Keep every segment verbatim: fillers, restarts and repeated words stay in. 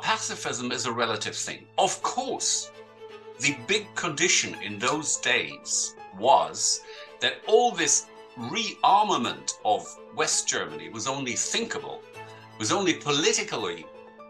pacifism is a relative thing. Of course, the big condition in those days was that all this rearmament of West Germany was only thinkable, was only politically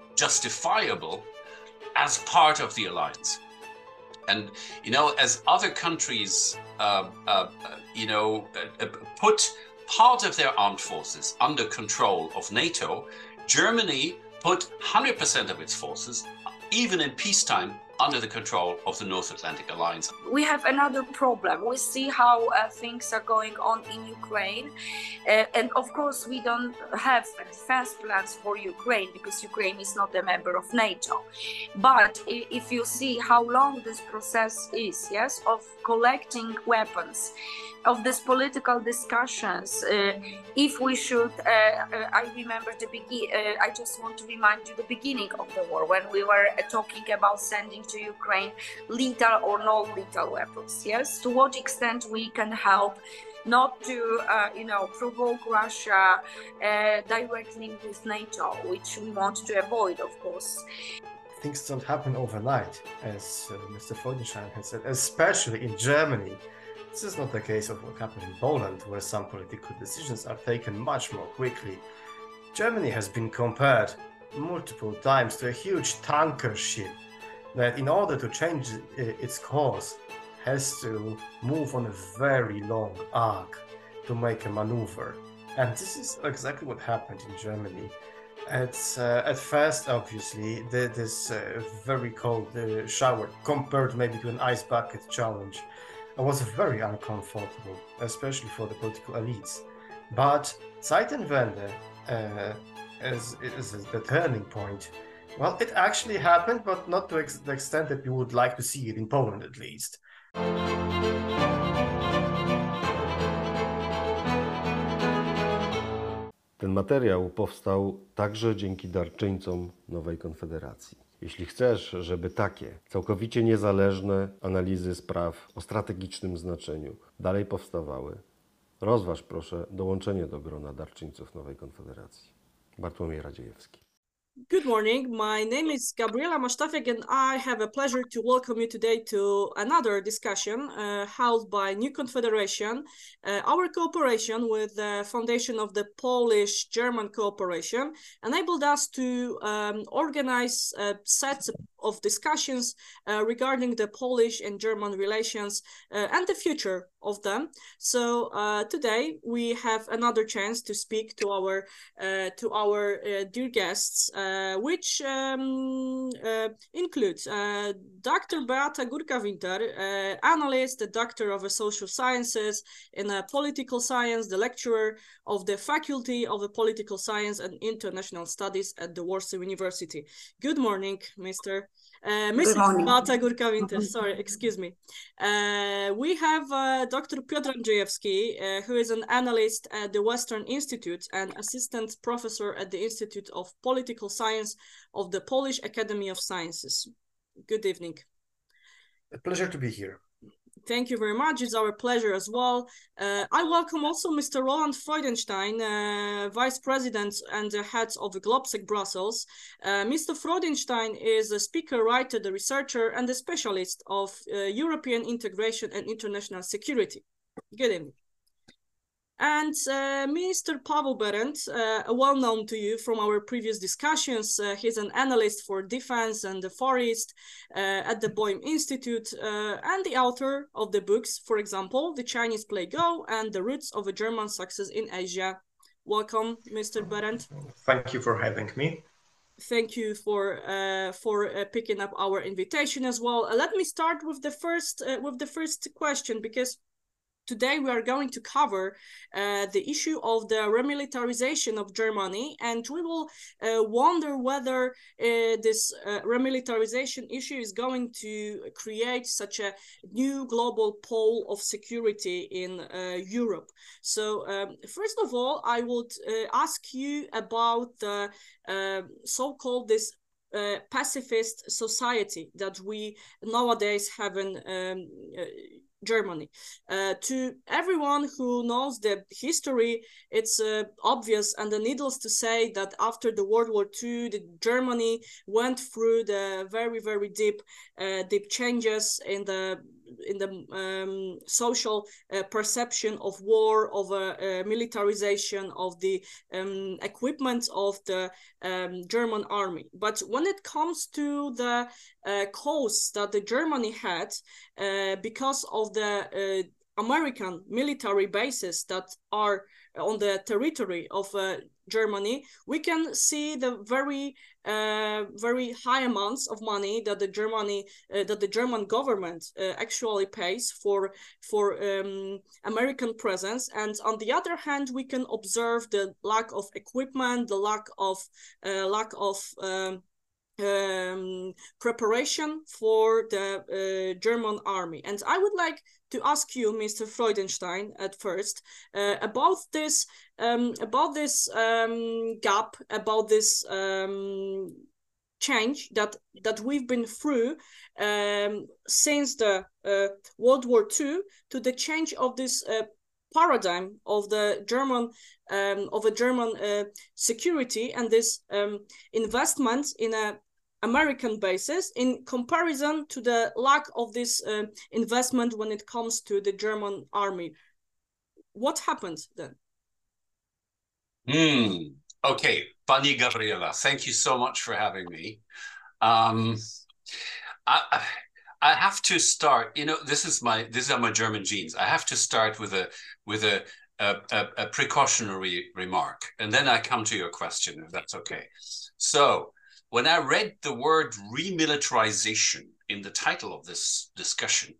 justifiable as part of the alliance. And, you know, as other countries, uh, uh, you know, uh, put part of their armed forces under control of NATO, Germany put one hundred percent of its forces, even in peacetime, under the control of the North Atlantic Alliance. We have another problem. We see how uh, things are going on in Ukraine. Uh, and of course, we don't have defense plans for Ukraine because Ukraine is not a member of NATO. But if you see how long this process is, yes, of collecting weapons, of these political discussions, uh, if we should, uh, uh, I remember the begin. Uh, I just want to remind you the beginning of the war when we were uh, talking about sending to Ukraine lethal or non-lethal weapons. Yes, to what extent we can help, not to, uh, you know, provoke Russia uh, directly with NATO, which we want to avoid, of course. Things don't happen overnight, as uh, Mister Freudenstein has said, especially in Germany. This is not the case of what happened in Poland, where some political decisions are taken much more quickly. Germany has been compared multiple times to a huge tanker ship that, in order to change its course, has to move on a very long arc to make a maneuver. And this is exactly what happened in Germany. At, uh, at first, obviously, the, this uh, very cold uh, shower, compared maybe to an ice bucket challenge, was very uncomfortable, especially for the political elites. But Zeitenwende, uh, as, as the turning point, well, it actually happened, but not to ex the extent that we would like to see it in Poland, at least. Ten materiał powstał także dzięki darczyńcom Nowej Konfederacji. Jeśli chcesz, żeby takie całkowicie niezależne analizy spraw o strategicznym znaczeniu dalej powstawały, rozważ proszę dołączenie do grona darczyńców Nowej Konfederacji. Bartłomiej Radziejewski. Good morning, my name is Gabriela Masztafiak and I have a pleasure to welcome you today to another discussion uh, held by New Confederation. Uh, our cooperation with the foundation of the Polish-German cooperation enabled us to um, organize uh, sets of discussions uh, regarding the Polish and German relations uh, and the future of them. So uh, today we have another chance to speak to our uh, to our uh, dear guests, uh, which um, uh, includes uh, Doctor Beata Górka-Winter, uh, analyst, a doctor of social sciences in uh, political science, the lecturer of the Faculty of the Political Science and International Studies at the Warsaw University. Good morning, Mister Uh, Missus Beata Górka-Winter, sorry, excuse me. Uh, we have uh, Doctor Piotr Andrzejewski, uh, who is an analyst at the Western Institute and assistant professor at the Institute of Political Science of the Polish Academy of Sciences. Good evening. A pleasure to be here. Thank you very much. It's our pleasure as well. Uh, I welcome also Mister Roland Freudenstein, uh, Vice President and the head of Globsec Brussels. Uh, Mister Freudenstein is a speaker, writer, the researcher, and a specialist of uh, European integration and international security. Good evening. And uh, Mister Paweł Berendt, uh, well known to you from our previous discussions, uh, he's an analyst for defense and the Far East uh, at the Boehm Institute uh, and the author of the books, for example, The Chinese Play Go and The Roots of a German Success in Asia. Welcome, Mister Berendt. Thank you for having me. Thank you for uh, for uh, picking up our invitation as well. Uh, let me start with the first uh, with the first question, because today we are going to cover uh, the issue of the remilitarization of Germany, and we will uh, wonder whether uh, this uh, remilitarization issue is going to create such a new global pole of security in uh, Europe. So um, first of all, I would uh, ask you about the uh, so-called this Uh, pacifist society that we nowadays have in um, uh, Germany. Uh, to everyone who knows the history, it's uh, obvious and needless to say that after the World War Two, the Germany went through the very, very deep, uh, deep changes in the in the um, social uh, perception of war, of a uh, uh, militarization of the um, equipment of the um, German army. But when it comes to the uh, costs that the Germany had uh, because of the uh, American military bases that are on the territory of uh, Germany, we can see the very, uh, very high amounts of money that the Germany, uh, that the German government uh, actually pays for for um, American presence. And on the other hand, we can observe the lack of equipment, the lack of uh, lack of um, um, preparation for the uh, German army. And I would like to ask you, Mister Freudenstein, at first uh, about this um, about this um, gap, about this um, change that that we've been through um, since the uh, World War Two, to the change of this uh, paradigm of the German um, of a German uh, security, and this um, investment in a American basis in comparison to the lack of this uh, investment when it comes to the German army. What happened then? Hmm. Okay, Pani Gabriela, thank you so much for having me. Um, I, I have to start. You know, this is my these are my German genes. I have to start with a with a a, a, a precautionary remark, and then I come to your question, if that's okay. So, when I read the word remilitarization in the title of this discussion,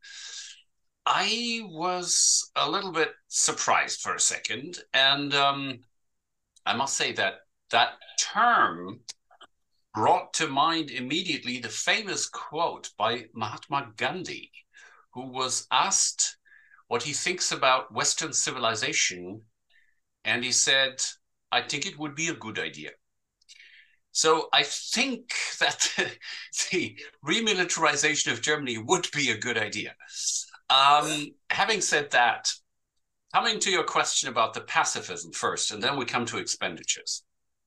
I was a little bit surprised for a second, and um, I must say that that term brought to mind immediately the famous quote by Mahatma Gandhi, who was asked what he thinks about Western civilization, and he said, "I think it would be a good idea." So I think that the remilitarization of Germany would be a good idea. Um, having said that, coming to your question about the pacifism first, and then we come to expenditures.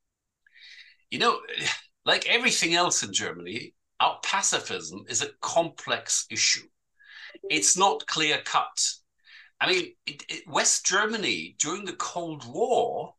You know, like everything else in Germany, our pacifism is a complex issue. It's not clear cut. I mean, it, it, West Germany during the Cold War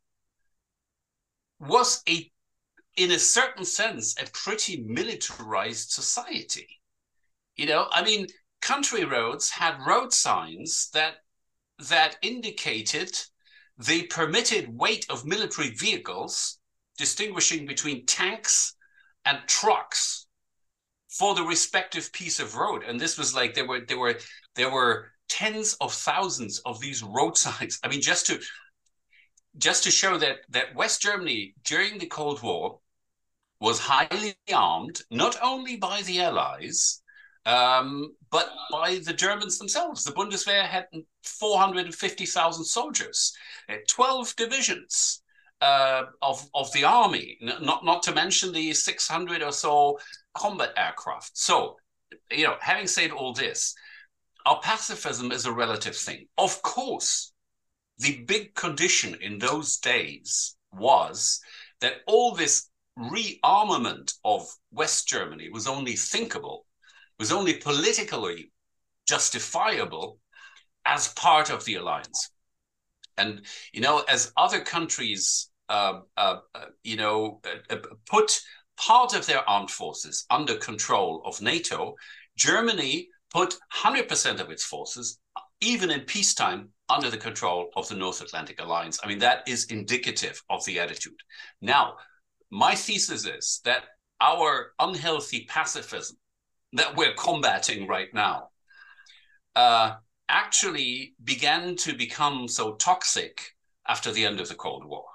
was a in a certain sense, a pretty militarized society. You know, I mean, country roads had road signs that that indicated the permitted weight of military vehicles, distinguishing between tanks and trucks for the respective piece of road. And this was like there were there were there were tens of thousands of these road signs. I mean, just to just to show that that West Germany during the Cold War was highly armed, not only by the Allies, um, but by the Germans themselves. The Bundeswehr had four hundred fifty thousand soldiers, twelve divisions uh, of, of the army, not, not to mention the six hundred or so combat aircraft. So, you know, having said all this, our pacifism is a relative thing. Of course, the big condition in those days was that all this rearmament of West Germany was only thinkable, was only politically justifiable as part of the alliance. And, you know, as other countries, uh, uh, uh, you know, uh, put part of their armed forces under control of NATO, Germany put one hundred percent of its forces, even in peacetime, under the control of the North Atlantic Alliance. I mean, that is indicative of the attitude. Now, my thesis is that our unhealthy pacifism that we're combating right now uh, actually began to become so toxic after the end of the Cold War.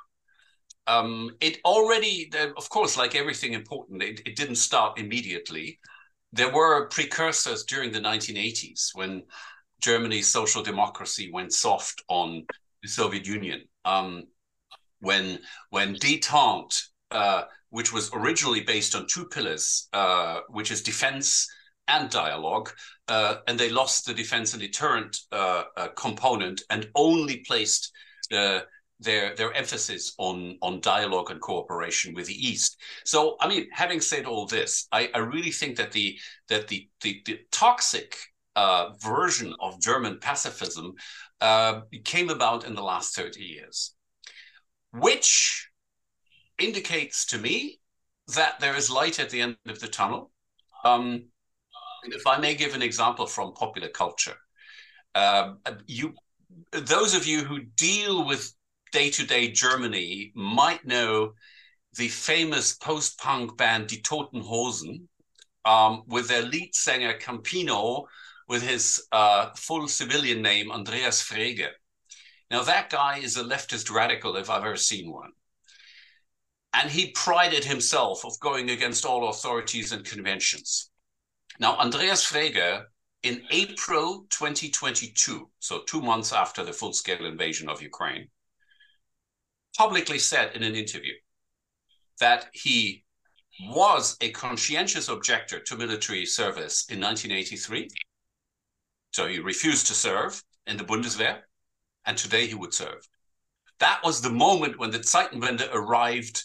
Um, it already, of course, like everything important, it, it didn't start immediately. There were precursors during the nineteen eighties when Germany's social democracy went soft on the Soviet Union. Um, when, when détente, Uh, which was originally based on two pillars, uh, which is defense and dialogue, uh, and they lost the defense and deterrent uh, uh, component and only placed the their their emphasis on on dialogue and cooperation with the East. So, I mean, having said all this, I, I really think that the that the the, the toxic uh, version of German pacifism uh, came about in the last thirty years, which indicates to me that there is light at the end of the tunnel. Um, if I may give an example from popular culture, uh, you those of you who deal with day-to-day Germany might know the famous post-punk band Die Toten Hosen, um, with their lead singer Campino, with his uh, full civilian name, Andreas Frege. Now, that guy is a leftist radical if I've ever seen one. And he prided himself of going against all authorities and conventions. Now, Andreas Frege, in April twenty twenty-two, so two months after the full-scale invasion of Ukraine, publicly said in an interview that he was a conscientious objector to military service in nineteen eighty-three. So he refused to serve in the Bundeswehr, and today he would serve. That was the moment when the Zeitenwende arrived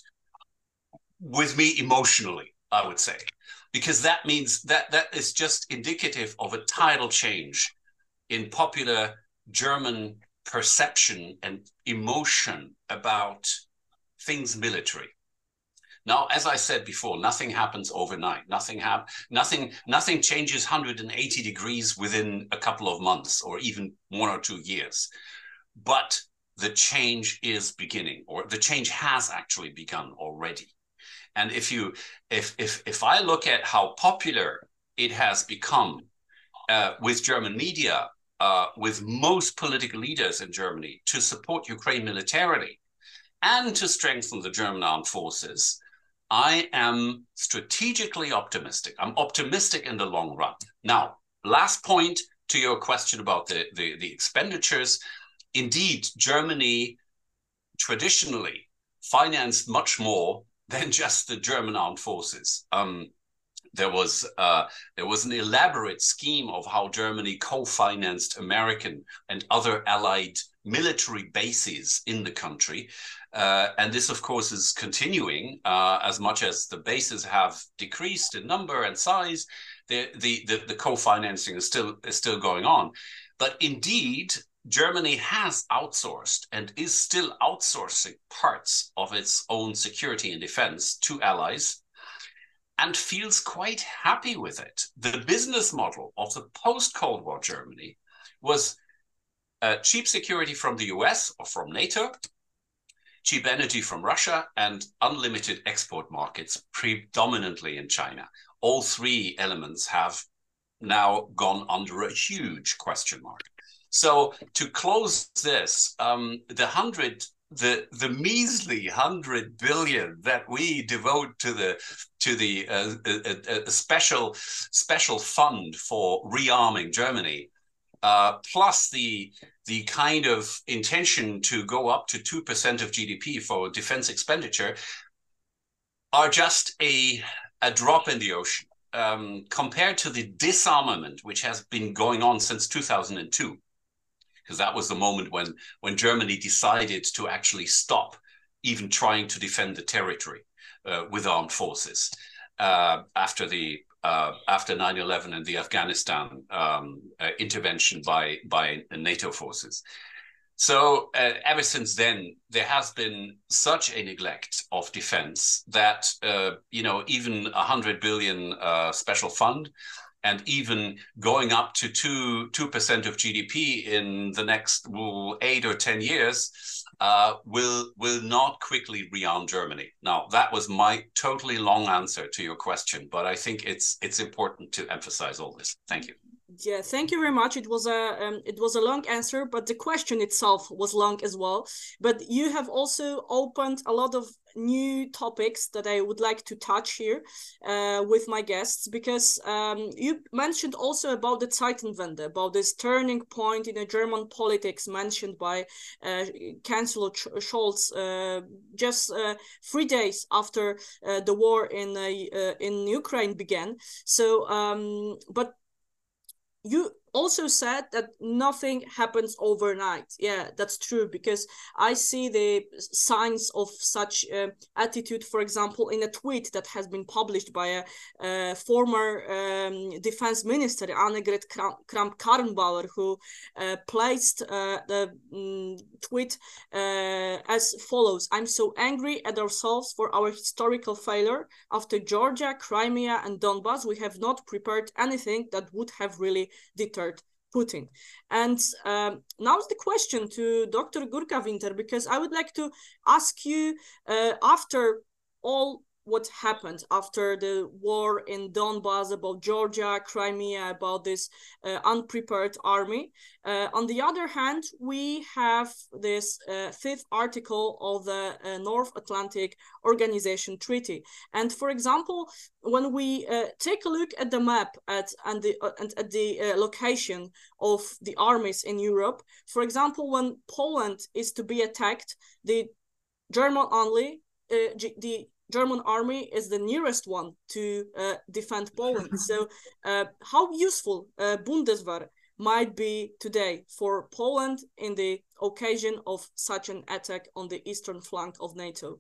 with me emotionally, I would say, because that means that that is just indicative of a tidal change in popular German perception and emotion about things military. Now, as I said before, nothing happens overnight. Nothing hap- nothing, nothing changes one hundred eighty degrees within a couple of months or even one or two years. But the change is beginning, or the change has actually begun already. And if you, if if if I look at how popular it has become uh, with German media, Uh, with most political leaders in Germany to support Ukraine militarily and to strengthen the German armed forces, I am strategically optimistic. I'm optimistic in the long run. Now, last point to your question about the, the, the expenditures. Indeed, Germany traditionally financed much more than just the German armed forces. Um, There was uh, there was an elaborate scheme of how Germany co-financed American and other allied military bases in the country. Uh, and this, of course, is continuing uh, as much as the bases have decreased in number and size. The, the, the, the co-financing is still, is still going on. But indeed, Germany has outsourced and is still outsourcing parts of its own security and defense to allies, and feels quite happy with it. The business model of the post-Cold War Germany was uh, cheap security from the U S or from NATO, cheap energy from Russia, and unlimited export markets, predominantly in China. All three elements have now gone under a huge question mark. So to close this, um, the hundred The, the measly hundred billion that we devote to the to the uh, a, a special special fund for rearming Germany, uh, plus the the kind of intention to go up to two percent of G D P for defense expenditure, are just a a drop in the ocean um, compared to the disarmament which has been going on since two thousand two. Because that was the moment when, when Germany decided to actually stop even trying to defend the territory uh, with armed forces uh, after the uh, after nine eleven and the Afghanistan um, uh, intervention by by NATO forces. So uh, ever since then, there has been such a neglect of defense that uh, you know, even a hundred billion uh, special fund, and even going up to two two percent of G D P in the next well, eight or ten years uh, will will not quickly rearm Germany. Now, that was my totally long answer to your question, but I think it's it's important to emphasize all this. Thank you. Yeah, thank you very much. It was a um, it was a long answer, but the question itself was long as well. But you have also opened a lot of new topics that I would like to touch here uh, with my guests, because um, you mentioned also about the Zeitenwende, about this turning point in a German politics mentioned by uh, Chancellor Scholz uh, just uh, three days after uh, the war in uh, uh, in Ukraine began. So, um, but you also said that nothing happens overnight. Yeah, that's true, because I see the signs of such uh, attitude, for example, in a tweet that has been published by a, a former um, defense minister, Annegret Kramp-Karrenbauer, who uh, placed uh, the um, tweet uh, as follows: "I'm so angry at ourselves for our historical failure. After Georgia, Crimea, and Donbass, we have not prepared anything that would have really deterred Putin." And um, now's the question to Doctor Gurka-Winter, because I would like to ask you, uh, after all what happened after the war in Donbass, about Georgia, Crimea, about this uh, unprepared army. Uh, on the other hand, we have this uh, fifth article of the uh, North Atlantic Organization Treaty. And for example, when we uh, take a look at the map at, and, the, uh, and at the uh, location of the armies in Europe, for example, when Poland is to be attacked, the German only, uh, the German army is the nearest one to uh, defend Poland. So uh, how useful uh, Bundeswehr might be today for Poland in the occasion of such an attack on the eastern flank of NATO?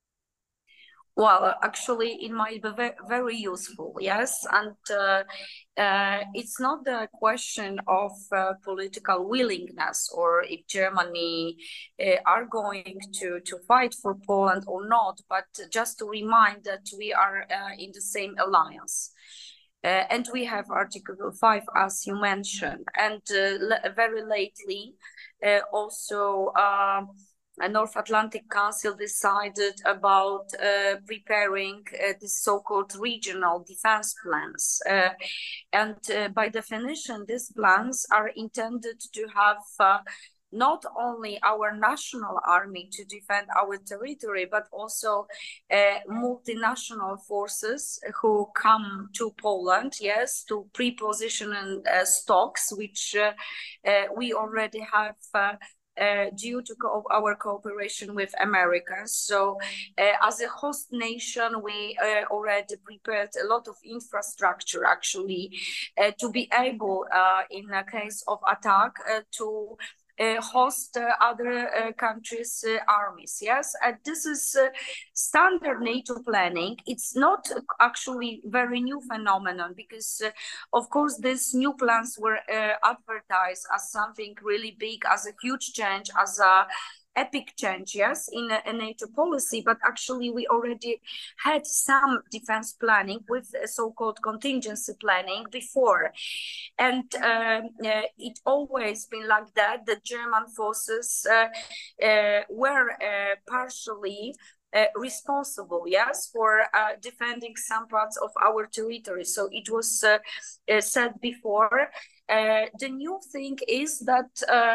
Well, actually, it might be very, very useful, yes. And uh, uh, it's not the question of uh, political willingness, or if Germany uh, are going to, to fight for Poland or not, but just to remind that we are uh, in the same alliance. Uh, and we have Article five, as you mentioned. And uh, very lately, uh, also, uh, a North Atlantic Council decided about uh, preparing uh, the so-called regional defense plans. Uh, and uh, by definition, these plans are intended to have uh, not only our national army to defend our territory, but also uh, multinational forces who come to Poland, yes, to pre-position uh, stocks, which uh, uh, we already have uh, Uh, due to co our cooperation with America. So uh, as a host nation, we uh, already prepared a lot of infrastructure, actually, uh, to be able, uh, in a case of attack, uh, to Uh, host uh, other uh, countries' uh, armies. Yes, and this is uh, standard NATO planning. It's not actually very new phenomenon, because, uh, of course, these new plans were uh, advertised as something really big, as a huge change, as a epic change, yes, in a, a NATO policy, but actually we already had some defense planning with a so-called contingency planning before. And uh, uh, it always been like that. The German forces uh, uh, were uh, partially Uh, responsible, yes, for uh, defending some parts of our territory. So it was uh, uh, said before. Uh, the new thing is that uh,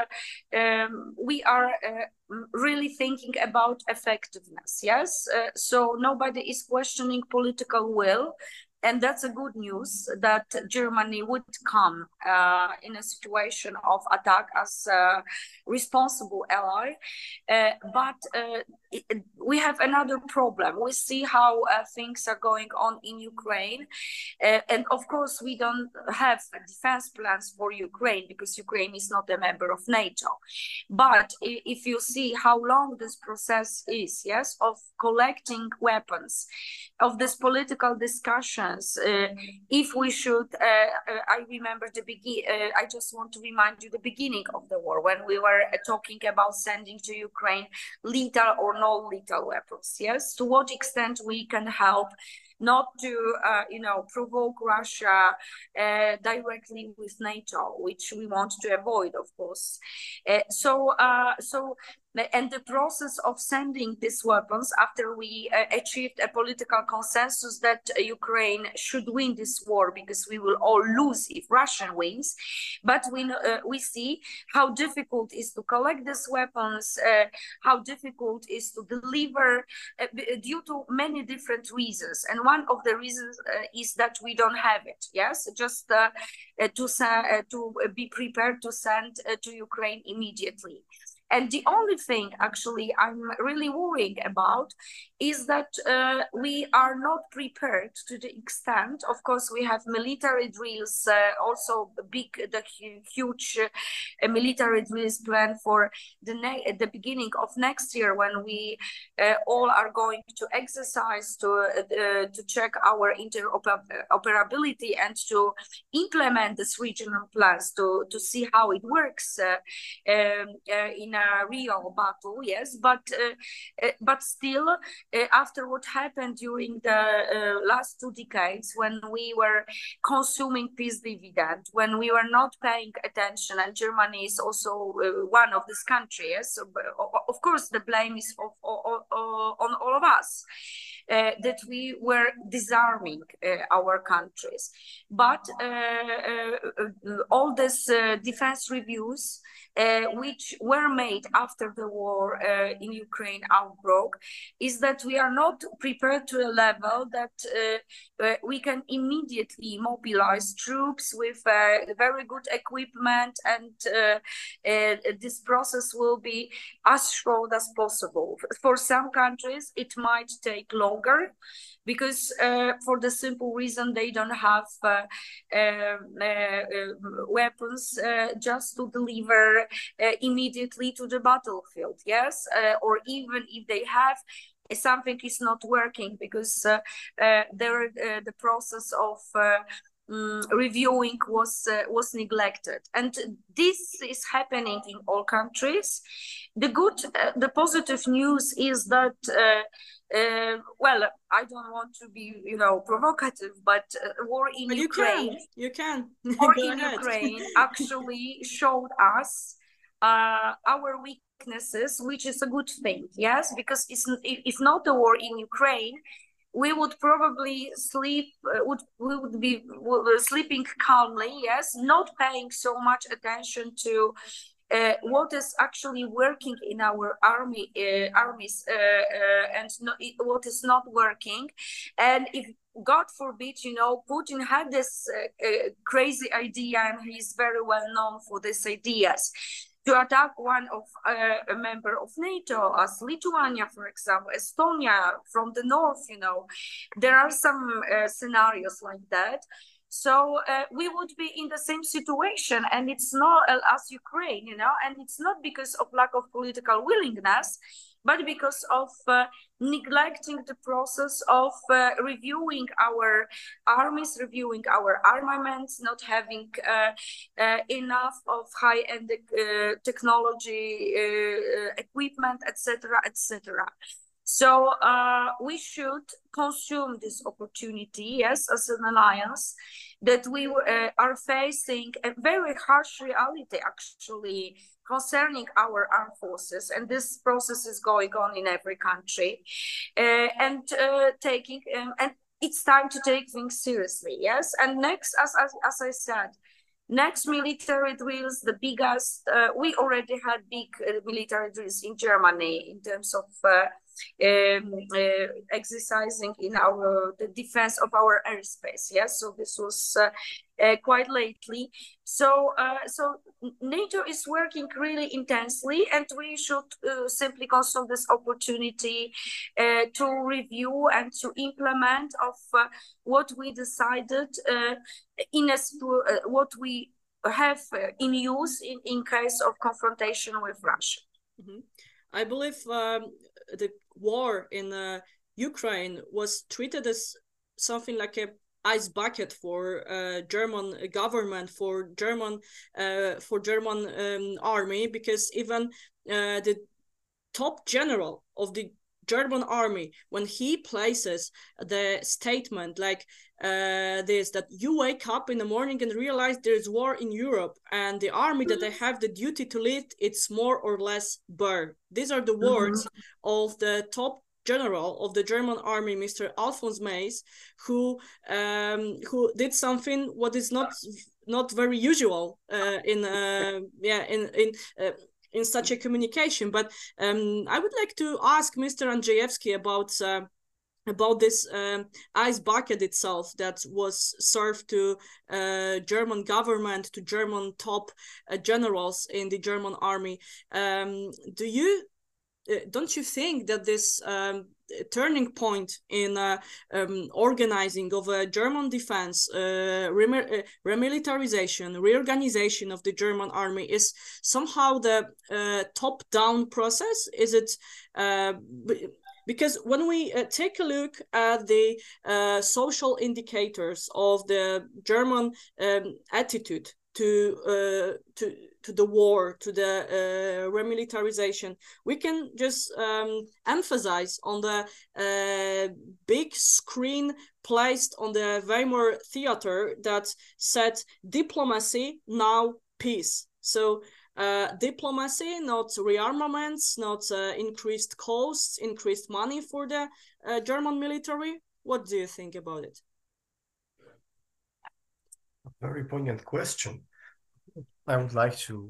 um, we are uh, really thinking about effectiveness, yes. Uh, so nobody is questioning political will. And that's a good news, that Germany would come uh, in a situation of attack as a responsible ally. Uh, but uh, it, we have another problem. We see how uh, things are going on in Ukraine. Uh, and of course, we don't have defense plans for Ukraine, because Ukraine is not a member of NATO. But if you see how long this process is, yes, of collecting weapons, of this political discussion, Uh, if we should, uh, uh, I remember the begin. Uh, I just want to remind you the beginning of the war, when we were uh, talking about sending to Ukraine lethal or non-lethal weapons. Yes, to what extent we can help not to, uh, you know, provoke Russia uh, directly with NATO, which we want to avoid, of course. Uh, so, uh, so. and the process of sending these weapons after we uh, achieved a political consensus that uh, Ukraine should win this war because we will all lose if Russia wins. But we uh, we see how difficult it is to collect these weapons, uh, how difficult it is to deliver uh, due to many different reasons. And one of the reasons uh, is that we don't have it. Yes, just uh, uh, to uh, to be prepared to send uh, to Ukraine immediately. And the only thing actually I'm really worrying about is that uh, we are not prepared to the extent. Of course, we have military drills, uh, also big, the huge uh, military drills planned for the at the beginning of next year, when we uh, all are going to exercise to uh, to check our interoperability and to implement these regional plans to to see how it works uh, um, uh, in a real battle. Yes, but uh, uh, but still, uh, after what happened during the uh, last two decades, when we were consuming peace dividend, when we were not paying attention, and Germany is also uh, one of these countries. So, of course, the blame is of, of, of, on all of us. Uh, that we were disarming uh, our countries. But uh, uh, all these uh, defense reviews, uh, which were made after the war uh, in Ukraine outbroke, is that we are not prepared to a level that uh, uh, we can immediately mobilize troops with uh, very good equipment, and uh, uh, this process will be as short as possible. For some countries, it might take long, because uh, for the simple reason they don't have uh, uh, uh, weapons uh, just to deliver uh, immediately to the battlefield. Yes, uh, or even if they have, something is not working because uh, uh, there uh, the process of uh, Um, reviewing was uh, was neglected, and this is happening in all countries. The good, uh, the positive news is that, uh, uh, well, I don't want to be, you know, provocative, but uh, war in but Ukraine, you can, you can. war Go in ahead. Ukraine actually showed us uh, our weaknesses, which is a good thing. Yes, because it's if not the war in Ukraine, we would probably sleep, uh, would, we would be sleeping calmly, yes, not paying so much attention to uh, what is actually working in our army, uh, armies uh, uh, and no, what is not working. And if, God forbid, you know, Putin had this uh, uh, crazy idea, and he's very well known for these ideas, to attack one of uh, a member of NATO, as Lithuania, for example, Estonia from the north. You know, there are some uh, scenarios like that. So uh, we would be in the same situation, and it's not uh, as Ukraine, you know, and it's not because of lack of political willingness, but because of uh, neglecting the process of uh, reviewing our armies, reviewing our armaments, not having uh, uh, enough of high-end uh, technology, uh, equipment, et cetera, et cetera. So uh, we should consume this opportunity, yes, as an alliance, that we uh, are facing a very harsh reality, actually, concerning our armed forces, and this process is going on in every country, uh, and uh, taking um, and it's time to take things seriously. Yes, and next, as as, as I said, next military drills, the biggest, uh, we already had big uh, military drills in Germany in terms of uh, um, uh, exercising in our the defense of our airspace. Yes, so this was uh, uh, quite lately. So, uh, so NATO is working really intensely, and we should uh, simply consume this opportunity uh, to review and to implement of uh, what we decided uh, in a uh, what we have uh, in use in, in case of confrontation with Russia. Mm-hmm. I believe um, the war in uh, Ukraine was treated as something like a ice bucket for uh, German government, for German uh, for German um, army, because even uh, the top general of the German army, when he places the statement like uh, this, that you wake up in the morning and realize there's war in Europe and the army that I have the duty to lead, it's more or less burned. These are the words mm-hmm. of the top general of the German army, Mister Alphonse Mays, who um, who did something what is not not very usual uh, in uh, yeah in in uh, in such a communication. But um, I would like to ask Mister Andrzejewski about uh, about this um, ice bucket itself that was served to uh, German government, to German top uh, generals in the German army. Um, do you uh, don't you think that this um, turning point in uh, um, organizing of a German defense, uh, rem uh, remilitarization, reorganization of the German army is somehow the uh, top-down process? Is it uh, because when we uh, take a look at the uh, social indicators of the German um, attitude to uh, to to the war, to the uh, remilitarization, we can just um, emphasize on the uh, big screen placed on the Weimar Theater that said diplomacy, now peace. So uh, diplomacy, not rearmaments, not uh, increased costs, increased money for the uh, German military. What do you think about it? A very poignant question. I would like to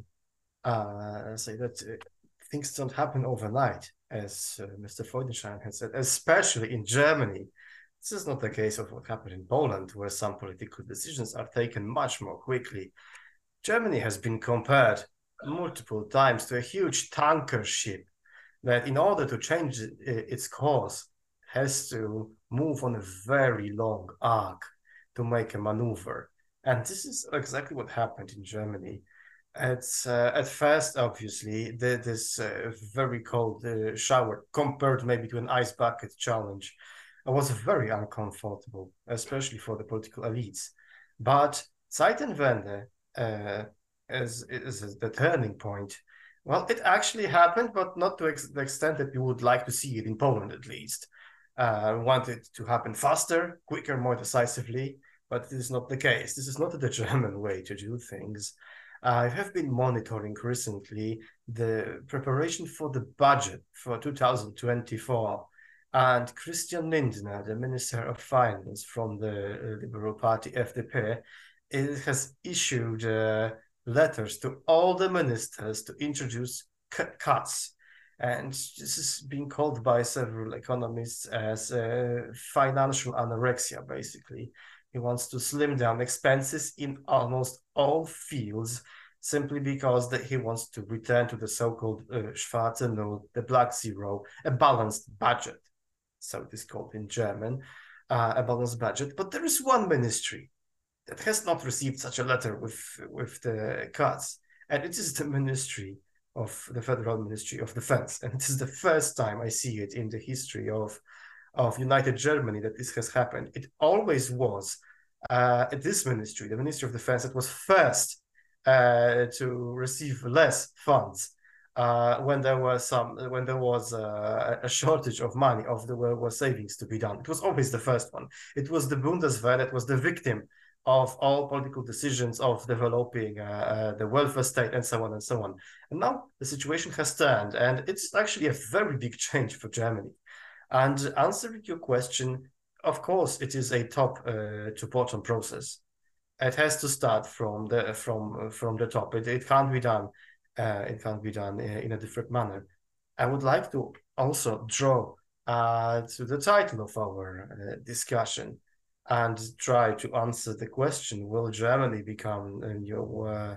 uh, say that uh, things don't happen overnight, as uh, Mister Freudenstein has said, especially in Germany. This is not the case of what happened in Poland, where some political decisions are taken much more quickly. Germany has been compared multiple times to a huge tanker ship that, in order to change its course, has to move on a very long arc to make a maneuver. And this is exactly what happened in Germany. It's, uh, at first, obviously, the, this uh, very cold uh, shower, compared maybe to an ice bucket challenge, was very uncomfortable, especially for the political elites. But Zeitenwende, uh, as, as the turning point, well, it actually happened, but not to ex the extent that we would like to see it in Poland, at least. Uh, we want it to happen faster, quicker, more decisively. But this is not the case. This is not the German way to do things. I have been monitoring recently the preparation for the budget for two thousand twenty-four, and Christian Lindner, the Minister of Finance from the Liberal Party, F D P, it has issued uh, letters to all the ministers to introduce cuts. And this is being called by several economists as uh, financial anorexia, basically. He wants to slim down expenses in almost all fields, simply because that he wants to return to the so-called uh, Schwarze Null, the black zero, a balanced budget. So it is called in German, uh, a balanced budget. But there is one ministry that has not received such a letter with, with the cuts, and it is the Ministry of the Federal Ministry of Defense. And it is the first time I see it in the history of of United Germany that this has happened. It always was uh, this ministry, the Ministry of Defense, that was first uh, to receive less funds uh, when there was some when there was uh, a shortage of money, of the were savings to be done. It was always the first one. It was the Bundeswehr that was the victim of all political decisions of developing uh, uh, the welfare state and so on and so on. And now the situation has turned, and it's actually a very big change for Germany. And answering your question, of course, it is a top uh, to bottom process. It has to start from the from from the top. It, it can't be done. Uh, it can't be done in a different manner. I would like to also draw uh, to the title of our uh, discussion and try to answer the question: will Germany become a new uh,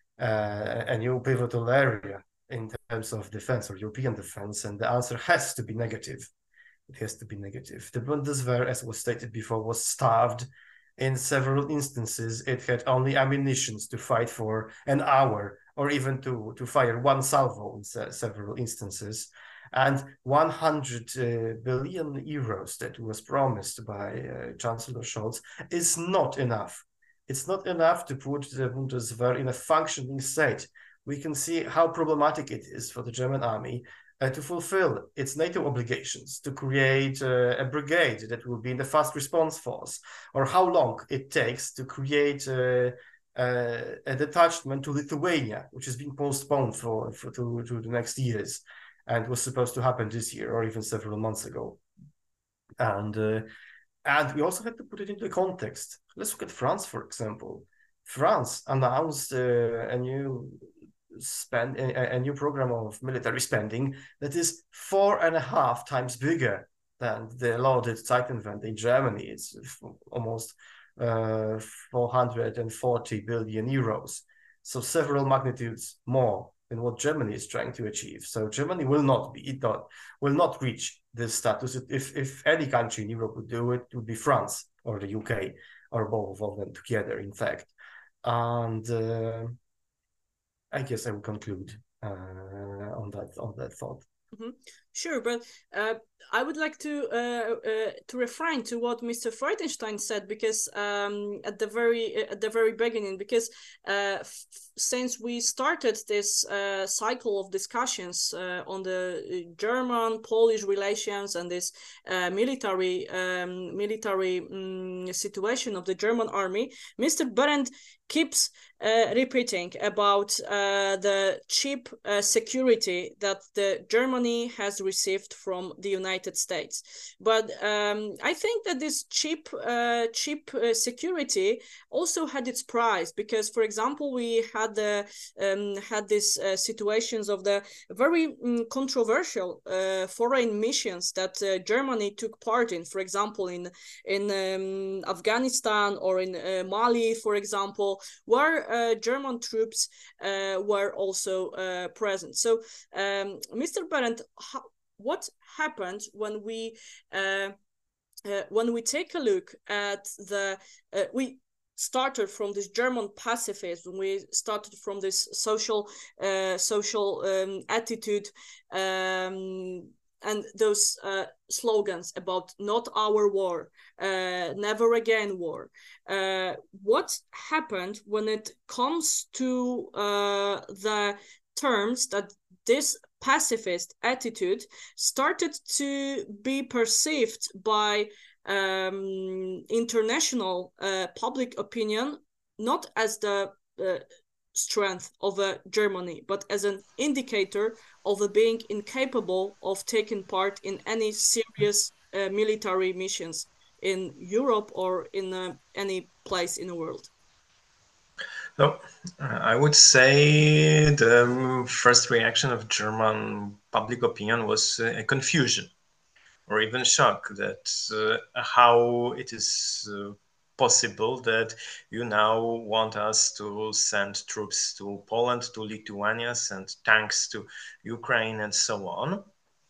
uh, a new pivotal area in terms of defense or European defense? And the answer has to be negative. It has to be negative. The Bundeswehr, as was stated before, was starved in several instances. It had only ammunition to fight for an hour, or even to, to fire one salvo in se several instances. And one hundred uh, billion euros that was promised by uh, Chancellor Scholz is not enough. It's not enough to put the Bundeswehr in a functioning state. We can see how problematic it is for the German army uh, to fulfill its NATO obligations, to create uh, a brigade that will be in the fast response force, or how long it takes to create uh, uh, a detachment to Lithuania, which has been postponed for, for to, to the next years and was supposed to happen this year or even several months ago. And uh, and we also had to put it into context. Let's look at France, for example. France announced uh, a new spend a, a new program of military spending that is four and a half times bigger than the lauded Zeitenwende in Germany. It's almost uh, four hundred forty billion euros, so several magnitudes more than what Germany is trying to achieve. So Germany will not be it not will not reach this status. If if any country in Europe would do it, it would be France or the U K or both of them together, in fact. And uh, I guess I will conclude uh, on that on that thought. Mm-hmm. Sure, but uh, I would like to uh, uh, to refrain to what Mister Freudenstein said, because um, at the very at the very beginning, because uh, f since we started this uh, cycle of discussions uh, on the German-Polish relations and this uh, military um, military um, situation of the German army, Mister Behrendt keeps uh, repeating about uh, the cheap uh, security that the Germany has received from the United States. But um, I think that this cheap uh, cheap uh, security also had its price, because, for example, we had the um, had these uh, situations of the very um, controversial uh, foreign missions that uh, Germany took part in, for example, in in um, Afghanistan or in uh, Mali, for example, where uh, German troops uh, were also uh, present. So, um, Mister Behrendt, what happened when we uh, uh, when we take a look at the uh, we started from this German pacifism, we started from this social uh, social um, attitude um, and those uh, slogans about not our war, uh, never again war. Uh, what happened when it comes to uh, the terms that this pacifist attitude started to be perceived by um, international uh, public opinion, not as the uh, strength of uh, Germany, but as an indicator of uh, being incapable of taking part in any serious uh, military missions in Europe or in uh, any place in the world? So, uh, I would say the first reaction of German public opinion was uh, a confusion or even shock that uh, how it is uh, possible that you now want us to send troops to Poland, to Lithuania, send tanks to Ukraine, and so on.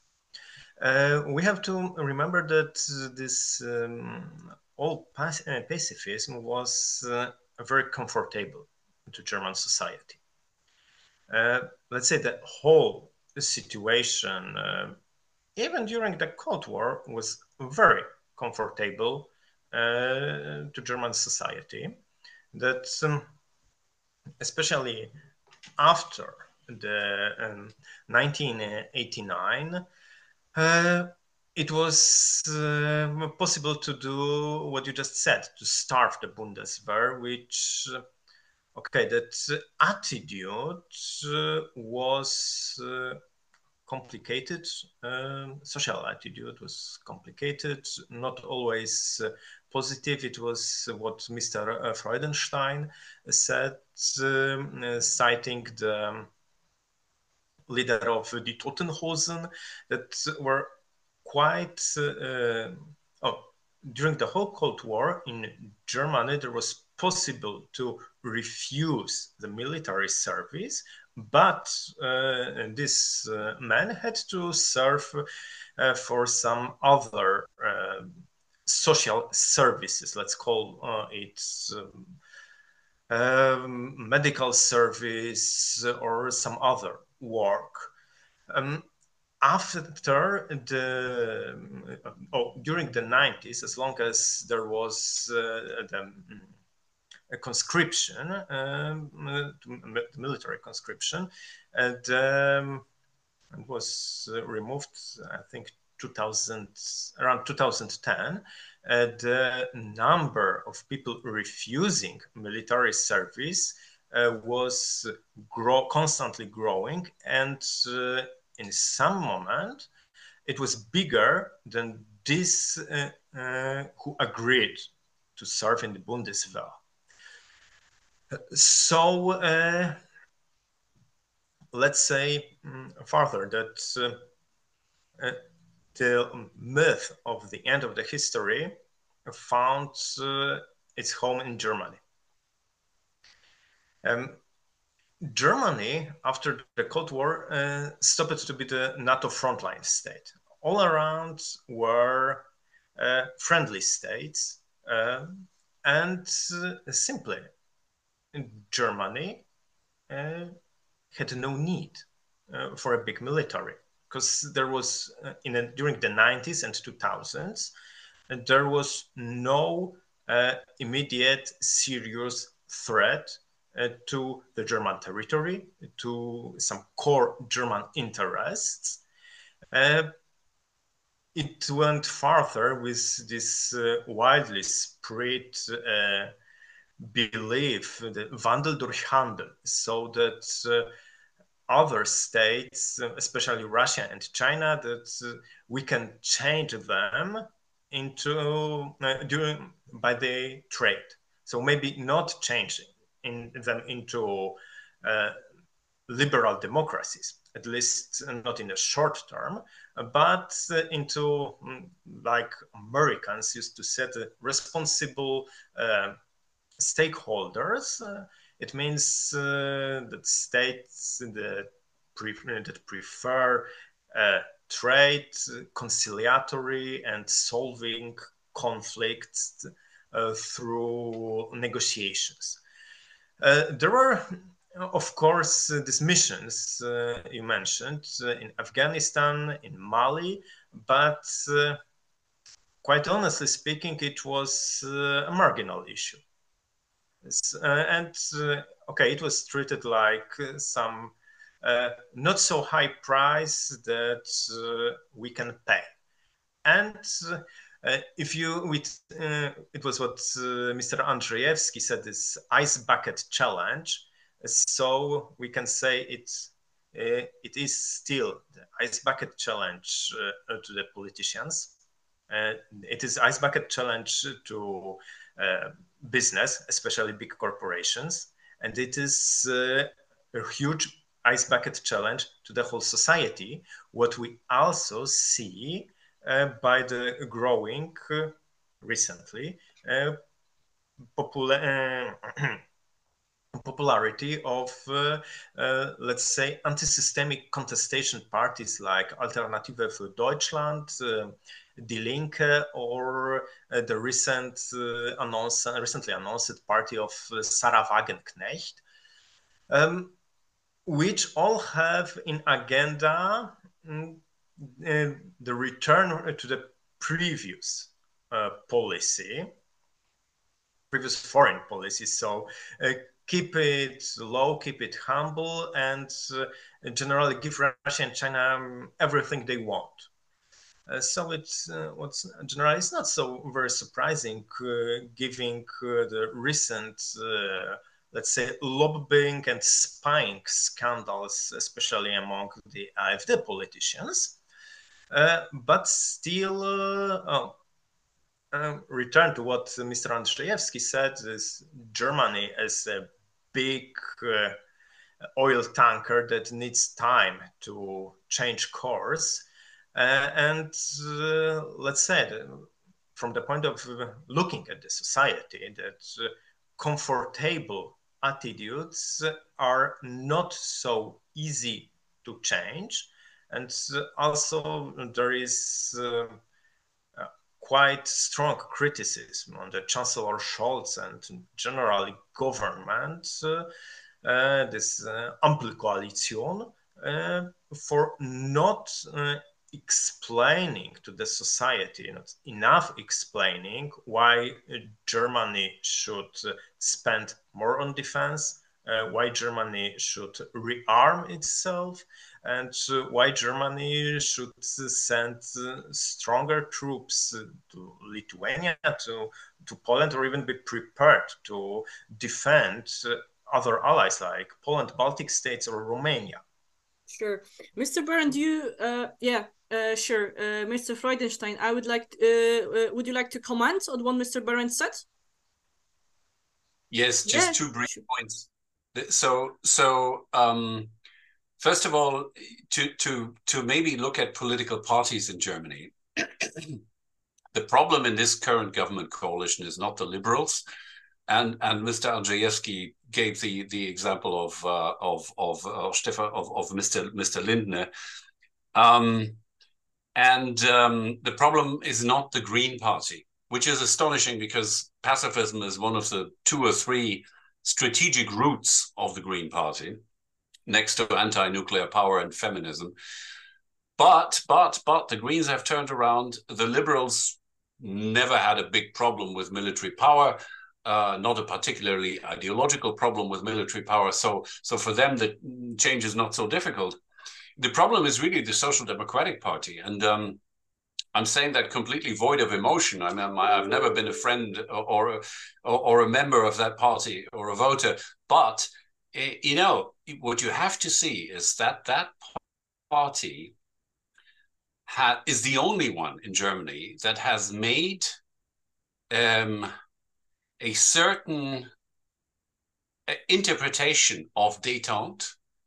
Uh, we have to remember that this um, all pac uh, pacifism was uh, very comfortable to German society. Uh, let's say the whole situation, uh, even during the Cold War, was very comfortable uh, to German society. That um, especially after the um, nineteen eighty-nine, uh, it was uh, possible to do what you just said, to starve the Bundeswehr, which, uh, okay, that attitude uh, was uh, complicated. Um, social attitude was complicated, not always uh, positive. It was what Mister Freudenstein said, um, uh, citing the leader of the Totenhosen, that were quite, uh, oh, during the whole Cold War in Germany, there was possible to refuse the military service, but uh, this uh, man had to serve uh, for some other uh, social services, let's call uh, it um, um, medical service or some other work. Um, after the, oh, during the nineties, as long as there was uh, the a conscription, um, military conscription, and um, and was uh, removed, I think, two thousand, around two thousand ten. Uh, the number of people refusing military service uh, was grow, constantly growing, and uh, in some moment it was bigger than these uh, uh, who agreed to serve in the Bundeswehr. So uh, let's say um, further that uh, uh, the myth of the end of the history found uh, its home in Germany. Um, Germany, after the Cold War, uh, stopped to be the NATO frontline state. All around were uh, friendly states, uh, and uh, simply Germany uh, had no need uh, for a big military, because there was uh, in a, during the nineties and two thousands, and there was no uh, immediate serious threat uh, to the German territory, to some core German interests. Uh, it went further with this uh, widely spread uh, belief, the Wandel durch Handel, so that uh, other states, especially Russia and China, that uh, we can change them into uh, during by the trade. So maybe not changing in them into uh, liberal democracies, at least not in the short term, but uh, into um, like Americans used to set uh, responsible uh, stakeholders. Uh, it means uh, that states that, pre that prefer uh, trade, conciliatory, and solving conflicts uh, through negotiations. Uh, there were, of course, uh, these missions uh, you mentioned uh, in Afghanistan, in Mali, but uh, quite honestly speaking, it was uh, a marginal issue. Uh, and uh, okay, it was treated like uh, some uh, not so high price that uh, we can pay. And uh, if you, with, uh, it was what uh, Mister Andrzejewski said, this ice bucket challenge. So we can say it, uh, it is still the ice bucket challenge uh, to the politicians. Uh, it is ice bucket challenge to uh, business, especially big corporations, and it is uh, a huge ice bucket challenge to the whole society. What we also see uh, by the growing uh, recently uh, popula uh, popularity of, uh, uh, let's say, anti-systemic contestation parties like Alternative für Deutschland, uh, Die Linke, or uh, the recent uh, announced, recently announced party of uh, Sarah Wagenknecht, um, which all have in agenda mm, uh, the return to the previous uh, policy, previous foreign policy. So uh, keep it low, keep it humble, and uh, generally give Russia and China um, everything they want. Uh, so it's uh, what's generally it's not so very surprising, uh, given uh, the recent, uh, let's say, lobbying and spying scandals, especially among the AfD politicians. Uh, but still, uh, oh, uh, return to what Mister Andrzejewski said: is Germany as a big uh, oil tanker that needs time to change course. Uh, and uh, let's say, that from the point of uh, looking at the society, that uh, comfortable attitudes are not so easy to change. And uh, also there is uh, uh, quite strong criticism on the Chancellor Scholz and generally government, uh, uh, this uh, Ampelkoalition, uh, for not uh, explaining to the society, not enough explaining why uh, Germany should uh, spend more on defense, uh, why Germany should rearm itself, and uh, why Germany should send uh, stronger troops to Lithuania, to, to Poland, or even be prepared to defend uh, other allies like Poland, Baltic states, or Romania. Sure. Mister Berend, you, uh, yeah, uh, sure. Uh, Mister Freudenstein, I would like, uh, uh, would you like to comment on what Mister Berend said? Yes, just yeah, two brief sure. points. So, so um, first of all, to to to maybe look at political parties in Germany. The problem in this current government coalition is not the liberals, and and Mister Andrzejewski gave the the example of uh, of of uh, Stefan of of Mister Mister Lindner, um, and um, the problem is not the Green Party, which is astonishing because pacifism is one of the two or three strategic roots of the Green Party, next to anti-nuclear power and feminism. But but but the Greens have turned around. The Liberals never had a big problem with military power. Uh, not a particularly ideological problem with military power. So, so for them, the change is not so difficult. The problem is really the Social Democratic Party. And um, I'm saying that completely void of emotion. I mean, I've never been a friend or, or, or a member of that party or a voter. But, you know, what you have to see is that that party ha- is the only one in Germany that has made um, a certain interpretation of détente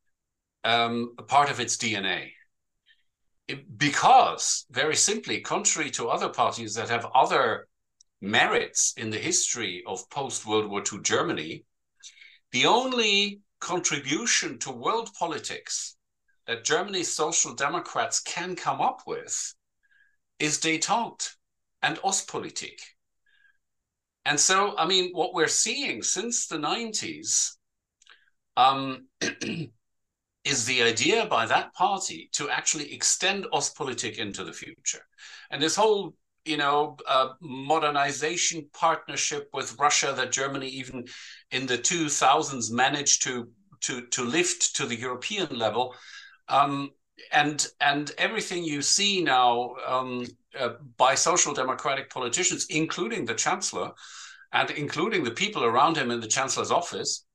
um, a part of its D N A. It, because, very simply, contrary to other parties that have other merits in the history of post-World War Two Germany, the only contribution to world politics that Germany's Social Democrats can come up with is détente and Ostpolitik. And so, I mean, what we're seeing since the nineties um, is the idea by that party to actually extend Ostpolitik into the future. And this whole, you know, uh, modernization partnership with Russia that Germany even in the two thousands managed to, to, to lift to the European level. Um, and, and everything you see now um, uh, by social democratic politicians, including the Chancellor, and including the people around him in the Chancellor's office,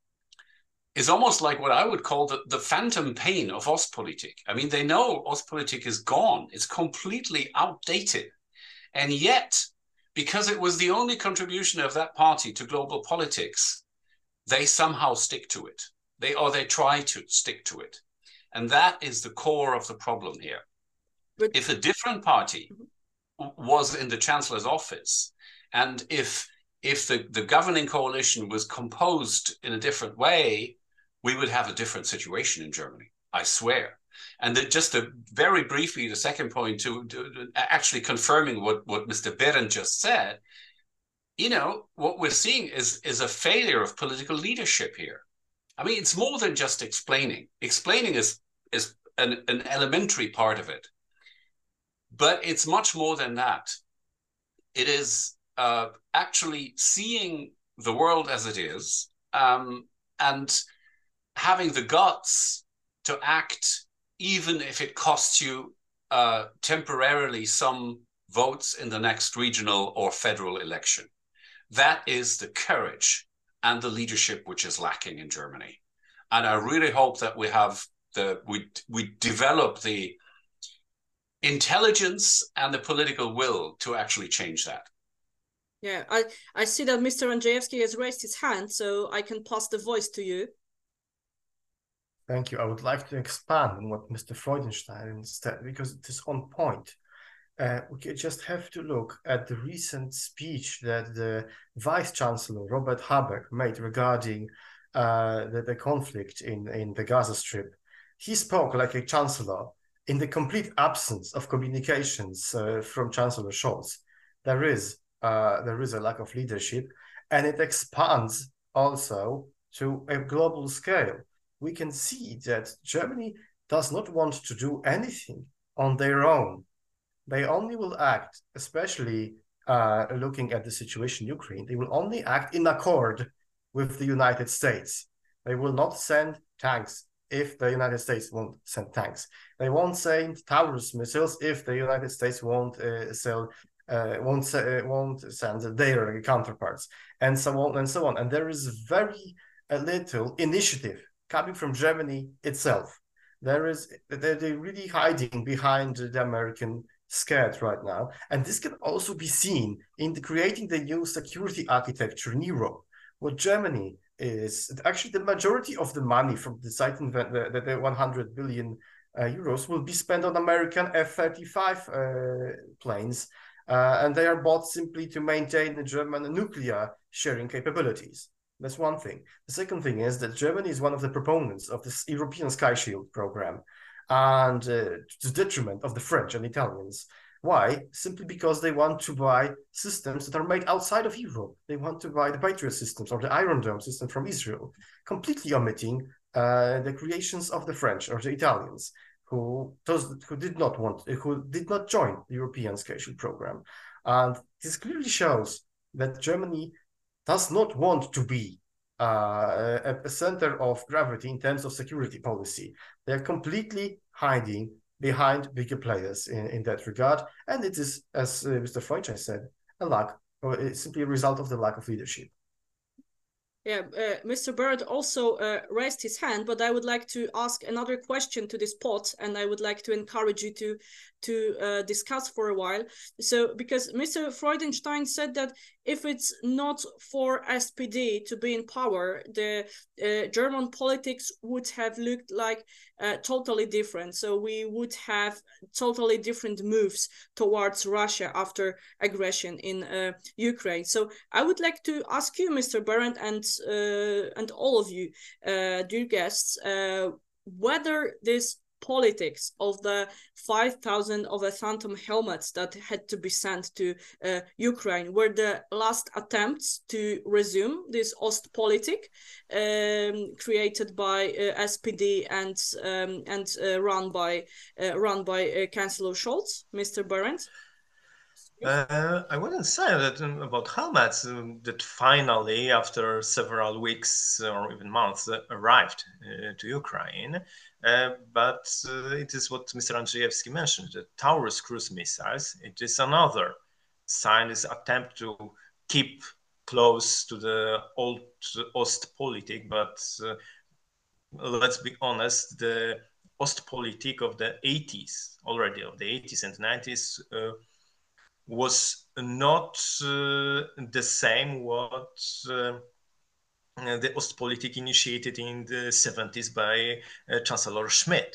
is almost like what I would call the, the phantom pain of Ostpolitik. I mean, they know Ostpolitik is gone. It's completely outdated. And yet, because it was the only contribution of that party to global politics, they somehow stick to it. They, or they try to stick to it. And that is the core of the problem here. But if a different party was in the Chancellor's office, and if if the, the governing coalition was composed in a different way, we would have a different situation in Germany, I swear. And that just to, very briefly, the second point to, to, to actually confirming what, what Mister Berend just said, you know, what we're seeing is, is a failure of political leadership here. I mean, it's more than just explaining. Explaining is, is an, an elementary part of it. But it's much more than that. It is uh, actually seeing the world as it is um, and having the guts to act, even if it costs you uh, temporarily some votes in the next regional or federal election. That is the courage and the leadership which is lacking in Germany. And I really hope that we have the, we, we develop the intelligence and the political will to actually change that. Yeah, I, I see that Mister Andrzejewski has raised his hand, so I can pass the voice to you. Thank you. I would like to expand on what Mister Freudenstein said, because it is on point. Uh, we just have to look at the recent speech that the Vice-Chancellor, Robert Habeck, made regarding uh, the, the conflict in, in the Gaza Strip. He spoke like a chancellor in the complete absence of communications uh, from Chancellor Scholz. There is, uh, there is a lack of leadership, and it expands also to a global scale. We can see that Germany does not want to do anything on their own. They only will act, especially uh, looking at the situation in Ukraine, they will only act in accord with the United States. They will not send tanks if the United States won't send tanks. They won't send Taurus missiles if the United States won't uh, sell, uh, won't uh, won't send their counterparts, and so on and so on. And there is very uh, little initiative coming from Germany itself. There is they're, they're really hiding behind the American scared right now, and this can also be seen in the creating the new security architecture in Europe. What Germany is actually the majority of the money from the site invent the, the one hundred billion uh, euros will be spent on American F thirty-five uh, planes, uh, and they are bought simply to maintain the German nuclear sharing capabilities. That's one thing. The second thing is that Germany is one of the proponents of this European Sky Shield program, and uh, to the detriment of the French and Italians. Why? Simply because they want to buy systems that are made outside of Europe. They want to buy the Patriot systems or the Iron Dome system from Israel, completely omitting uh, the creations of the French or the Italians, who those who did not want, who did not join the European Sky Shield program. And this clearly shows that Germany does not want to be uh, a, a center of gravity in terms of security policy. They're completely hiding behind bigger players in, in that regard. And it is, as uh, Mister Freundchen said, a lack, or it's simply a result of the lack of leadership. Yeah, uh, Mister Barrett also uh, raised his hand, but I would like to ask another question to this pot, and I would like to encourage you to to uh, discuss for a while. So, because Mister Freudenstein said that if it's not for S P D to be in power, the uh, German politics would have looked like uh, totally different. So we would have totally different moves towards Russia after aggression in uh, Ukraine. So I would like to ask you, Mister Barrett, and uh, and all of you, uh, dear guests, uh, whether this politics of the five thousand of the Phantom helmets that had to be sent to uh, Ukraine were the last attempts to resume this Ostpolitik um, created by uh, S P D and um, and uh, run by uh, run by uh, Chancellor Scholz, Mister Barrett? Uh, I wouldn't say that um, about helmets um, that finally, after several weeks or even months, uh, arrived uh, to Ukraine. Uh, but uh, it is what Mister Andrzejewski mentioned, the Taurus cruise missiles. It is another sign, this attempt to keep close to the old Ostpolitik. But uh, let's be honest, the Ostpolitik of the eighties, already of the eighties and nineties, uh, was not uh, the same what uh, the Ostpolitik initiated in the seventies by uh, Chancellor Schmidt.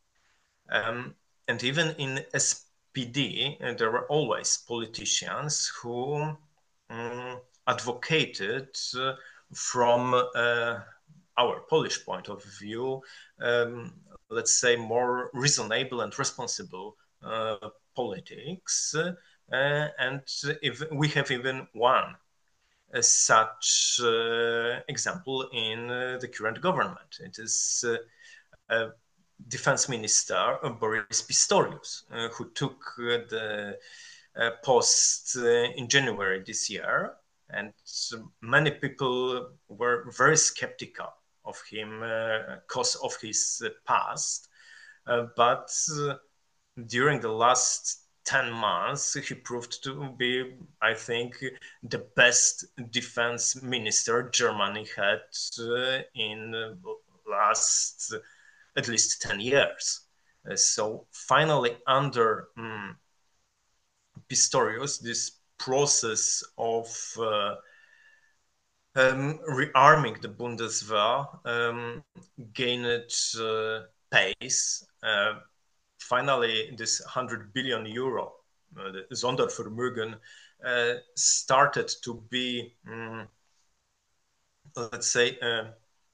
Um, and even in S P D, uh, there were always politicians who um, advocated uh, from uh, our Polish point of view, um, let's say more reasonable and responsible uh, politics. Uh, Uh, and if we have even one uh, such uh, example in uh, the current government. It is uh, uh, Defense Minister uh, Boris Pistorius, uh, who took uh, the uh, post uh, in January this year. And many people were very skeptical of him because uh, of his uh, past. Uh, but uh, during the last ten months, he proved to be, I think, the best defense minister Germany had uh, in the last uh, at least ten years. Uh, so finally, under um, Pistorius, this process of uh, um, rearming the Bundeswehr um, gained uh, pace. Uh, Finally, this one hundred billion euro, uh, the Sondervermögen, uh, started to be, um, let's say, uh,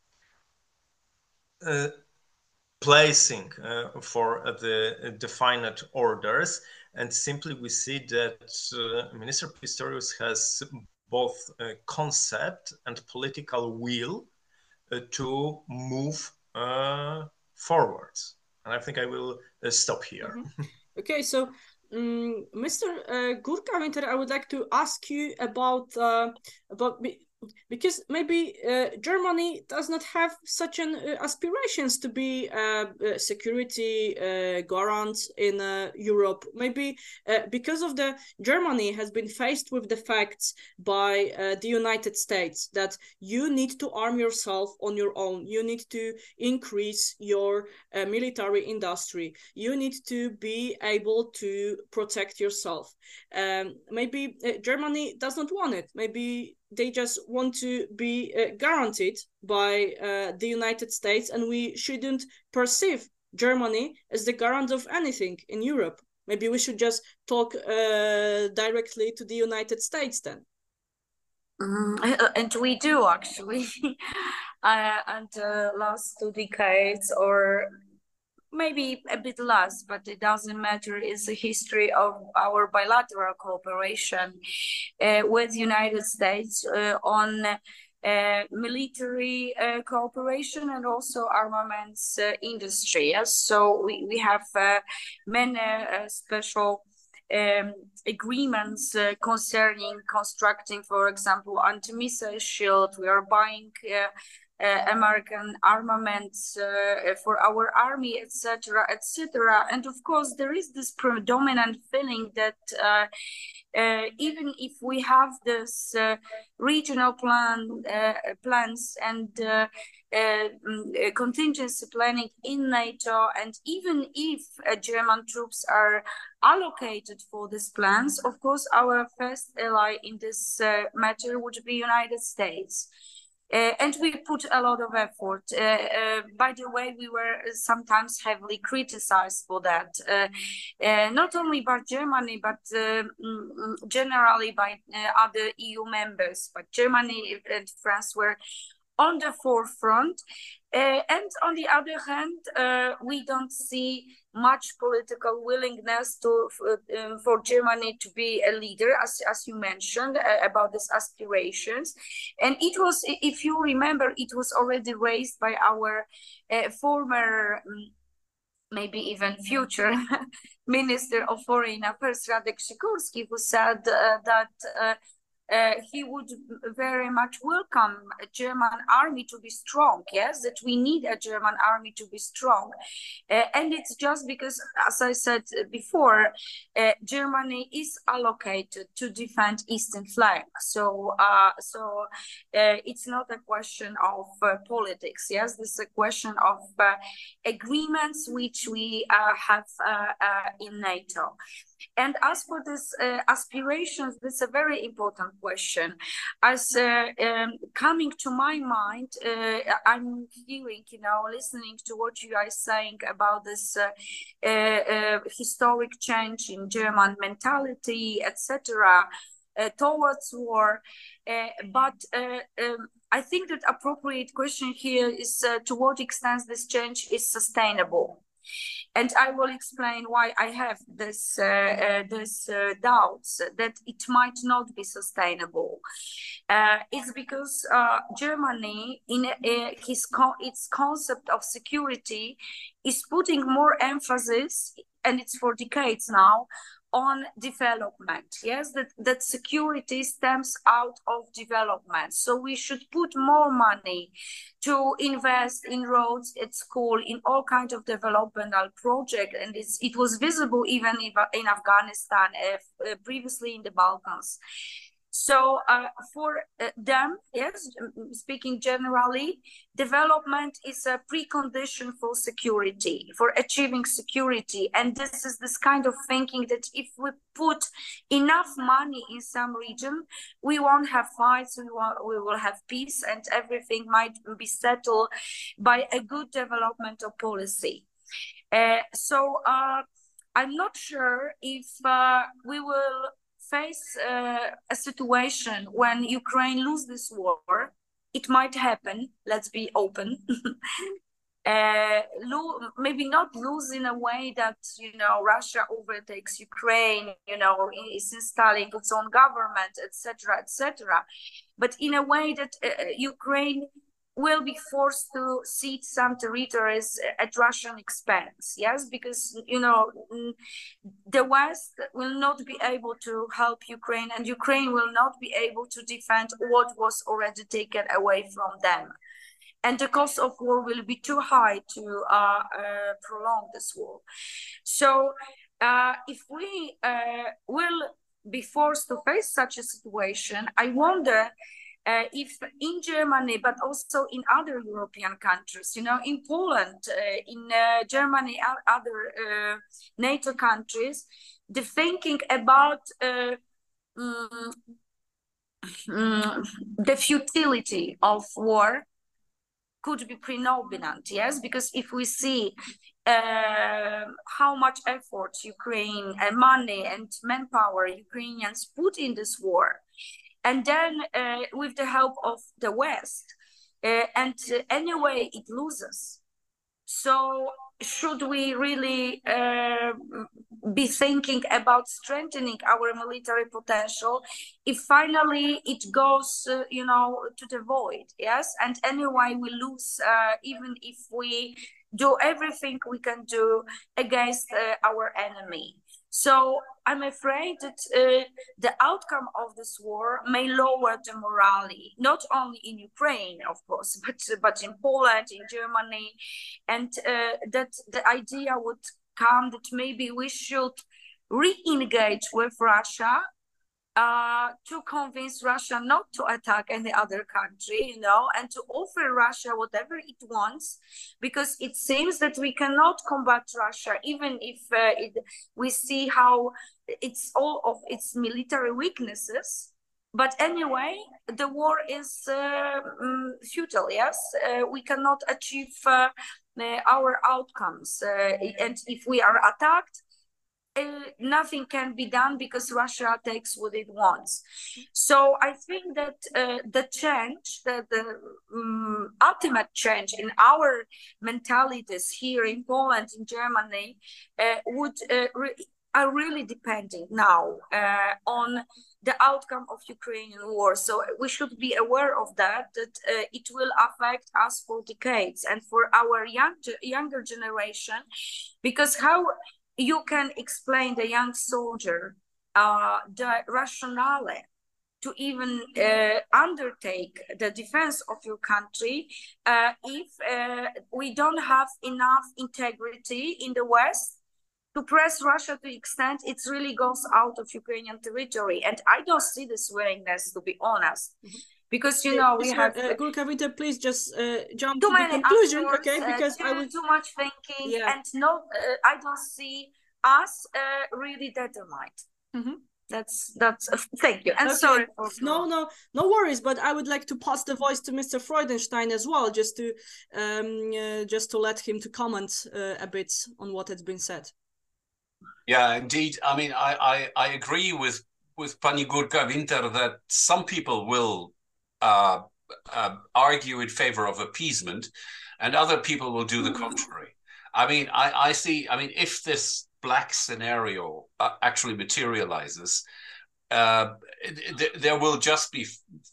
uh, placing uh, for uh, the defined orders. And simply we see that uh, Minister Pistorius has both a concept and political will uh, to move uh, forwards. And I think I will uh, stop here. Mm-hmm. Okay, so um, Mister Uh, Gurka-Winter, I would like to ask you about uh, about because maybe uh, Germany does not have such an uh, aspirations to be uh, uh, security uh, garant in uh, Europe. Maybe uh, because of the Germany has been faced with the facts by uh, the United States that you need to arm yourself on your own. You need to increase your uh, military industry. You need to be able to protect yourself. Um, maybe uh, Germany does not want it. Maybe they just want to be uh, guaranteed by uh, the United States, and we shouldn't perceive Germany as the garant of anything in Europe. Maybe we should just talk uh, directly to the United States then. Mm, and we do actually. uh, and the last two decades, or maybe a bit less, but it doesn't matter, is the history of our bilateral cooperation uh, with the United States uh, on uh, military uh, cooperation and also armaments uh, industry. Yes? So we, we have uh, many uh, special um, agreements uh, concerning constructing, for example, anti-missile shield. We are buying uh, Uh, American armaments uh, for our army, et cetera, et cetera. And of course, there is this predominant feeling that uh, uh, even if we have this uh, regional plan uh, plans and uh, uh, contingency planning in NATO, and even if uh, German troops are allocated for these plans, of course, our first ally in this uh, matter would be United States. Uh, and we put a lot of effort. Uh, uh, by the way, we were sometimes heavily criticized for that, uh, uh, not only by Germany, but uh, generally by uh, other E U members. But Germany and France were on the forefront. Uh, and on the other hand, uh, we don't see much political willingness to uh, um, for Germany to be a leader, as, as you mentioned, uh, about these aspirations. And it was, if you remember, it was already raised by our uh, former, um, maybe even future Minister of Foreign Affairs, Radek Sikorski, who said uh, that uh, Uh, he would very much welcome a German army to be strong, yes, that we need a German army to be strong. Uh, and it's just because, as I said before, uh, Germany is allocated to defend eastern flank. So, uh, so uh, it's not a question of uh, politics, yes, this is a question of uh, agreements which we uh, have uh, uh, in NATO. And as for this uh, aspirations, this is a very important question. As uh, um, coming to my mind, uh, I'm hearing, you know, listening to what you are saying about this uh, uh, uh, historic change in German mentality, et cetera, uh, towards war. Uh, but uh, um, I think that appropriate question here is uh, to what extent this change is sustainable. And I will explain why I have this uh, uh, this uh, doubts that it might not be sustainable. Uh, it's because uh, Germany, in uh, his co its concept of security, is putting more emphasis, and it's for decades now, on development. Yes, that, that security stems out of development. So we should put more money to invest in roads at school, in all kinds of developmental projects. And it's, it was visible even in, in Afghanistan, uh, previously in the Balkans. So uh, for uh, them, yes, speaking generally, development is a precondition for security, for achieving security. And this is this kind of thinking that if we put enough money in some region, we won't have fights, we, won't, we will have peace, and everything might be settled by a good developmental policy. Uh, so uh, I'm not sure if uh, we will face uh, a situation when Ukraine loses this war. It might happen, let's be open. uh, lo maybe not lose in a way that, you know, Russia overtakes Ukraine, you know, is installing its own government, et cetera, et cetera. But in a way that uh, Ukraine will be forced to cede some territories at Russian expense, yes, because, you know, the West will not be able to help Ukraine, and Ukraine will not be able to defend what was already taken away from them. And the cost of war will be too high to uh, uh, prolong this war. So uh, if we uh, will be forced to face such a situation, I wonder uh, if in Germany, but also in other European countries, you know, in Poland, uh, in uh, Germany, and other uh, NATO countries, the thinking about uh, um, um, the futility of war could be predominant, yes, because if we see uh, how much effort Ukraine and money and manpower Ukrainians put in this war, and then uh, with the help of the West, uh, and uh, anyway it loses. So should we really uh, be thinking about strengthening our military potential if finally it goes, uh, you know, to the void, yes? And anyway, we lose, uh, even if we do everything we can do against uh, our enemy. So I'm afraid that uh, the outcome of this war may lower the morale, not only in Ukraine, of course, but, but in Poland, in Germany, and uh, that the idea would come that maybe we should re-engage with Russia uh, to convince Russia not to attack any other country, you know, and to offer Russia whatever it wants, because it seems that we cannot combat Russia, even if uh, it, we see how it's all of its military weaknesses. But anyway, the war is uh, um, futile, yes? Uh, we cannot achieve uh, uh, our outcomes. Uh, and if we are attacked, Uh, nothing can be done because Russia takes what it wants. So I think that uh, the change, the, the um, ultimate change in our mentalities here in Poland, in Germany, uh, would uh, re are really depending now uh, on the outcome of Ukrainian war. So we should be aware of that, that uh, it will affect us for decades and for our young, younger generation, because how you can explain the young soldier uh, the rationale to even uh, undertake the defense of your country uh, if uh, we don't have enough integrity in the West to press Russia to the extent it really goes out of Ukrainian territory. And I don't see this willingness, to be honest. Mm-hmm. Because, you know, we have... Uh, Górka Winter, please just uh, jump too to the many conclusion, actors, okay? Because uh, too, I will... too much thinking, yeah. and no, uh, I don't see us uh, really determined. Mm-hmm. That's, that's, uh, thank you. And okay. sorry for... No, no, no worries, but I would like to pass the voice to Mister Freudenstein as well, just to, um, uh, just to let him to comment uh, a bit on what has been said. Yeah, indeed. I mean, I, I, I agree with, with Pani Górka Winter that some people will uh, uh, argue in favor of appeasement and other people will do the contrary. I mean, I, I see, I mean, if this black scenario uh, actually materializes, uh, th there will just be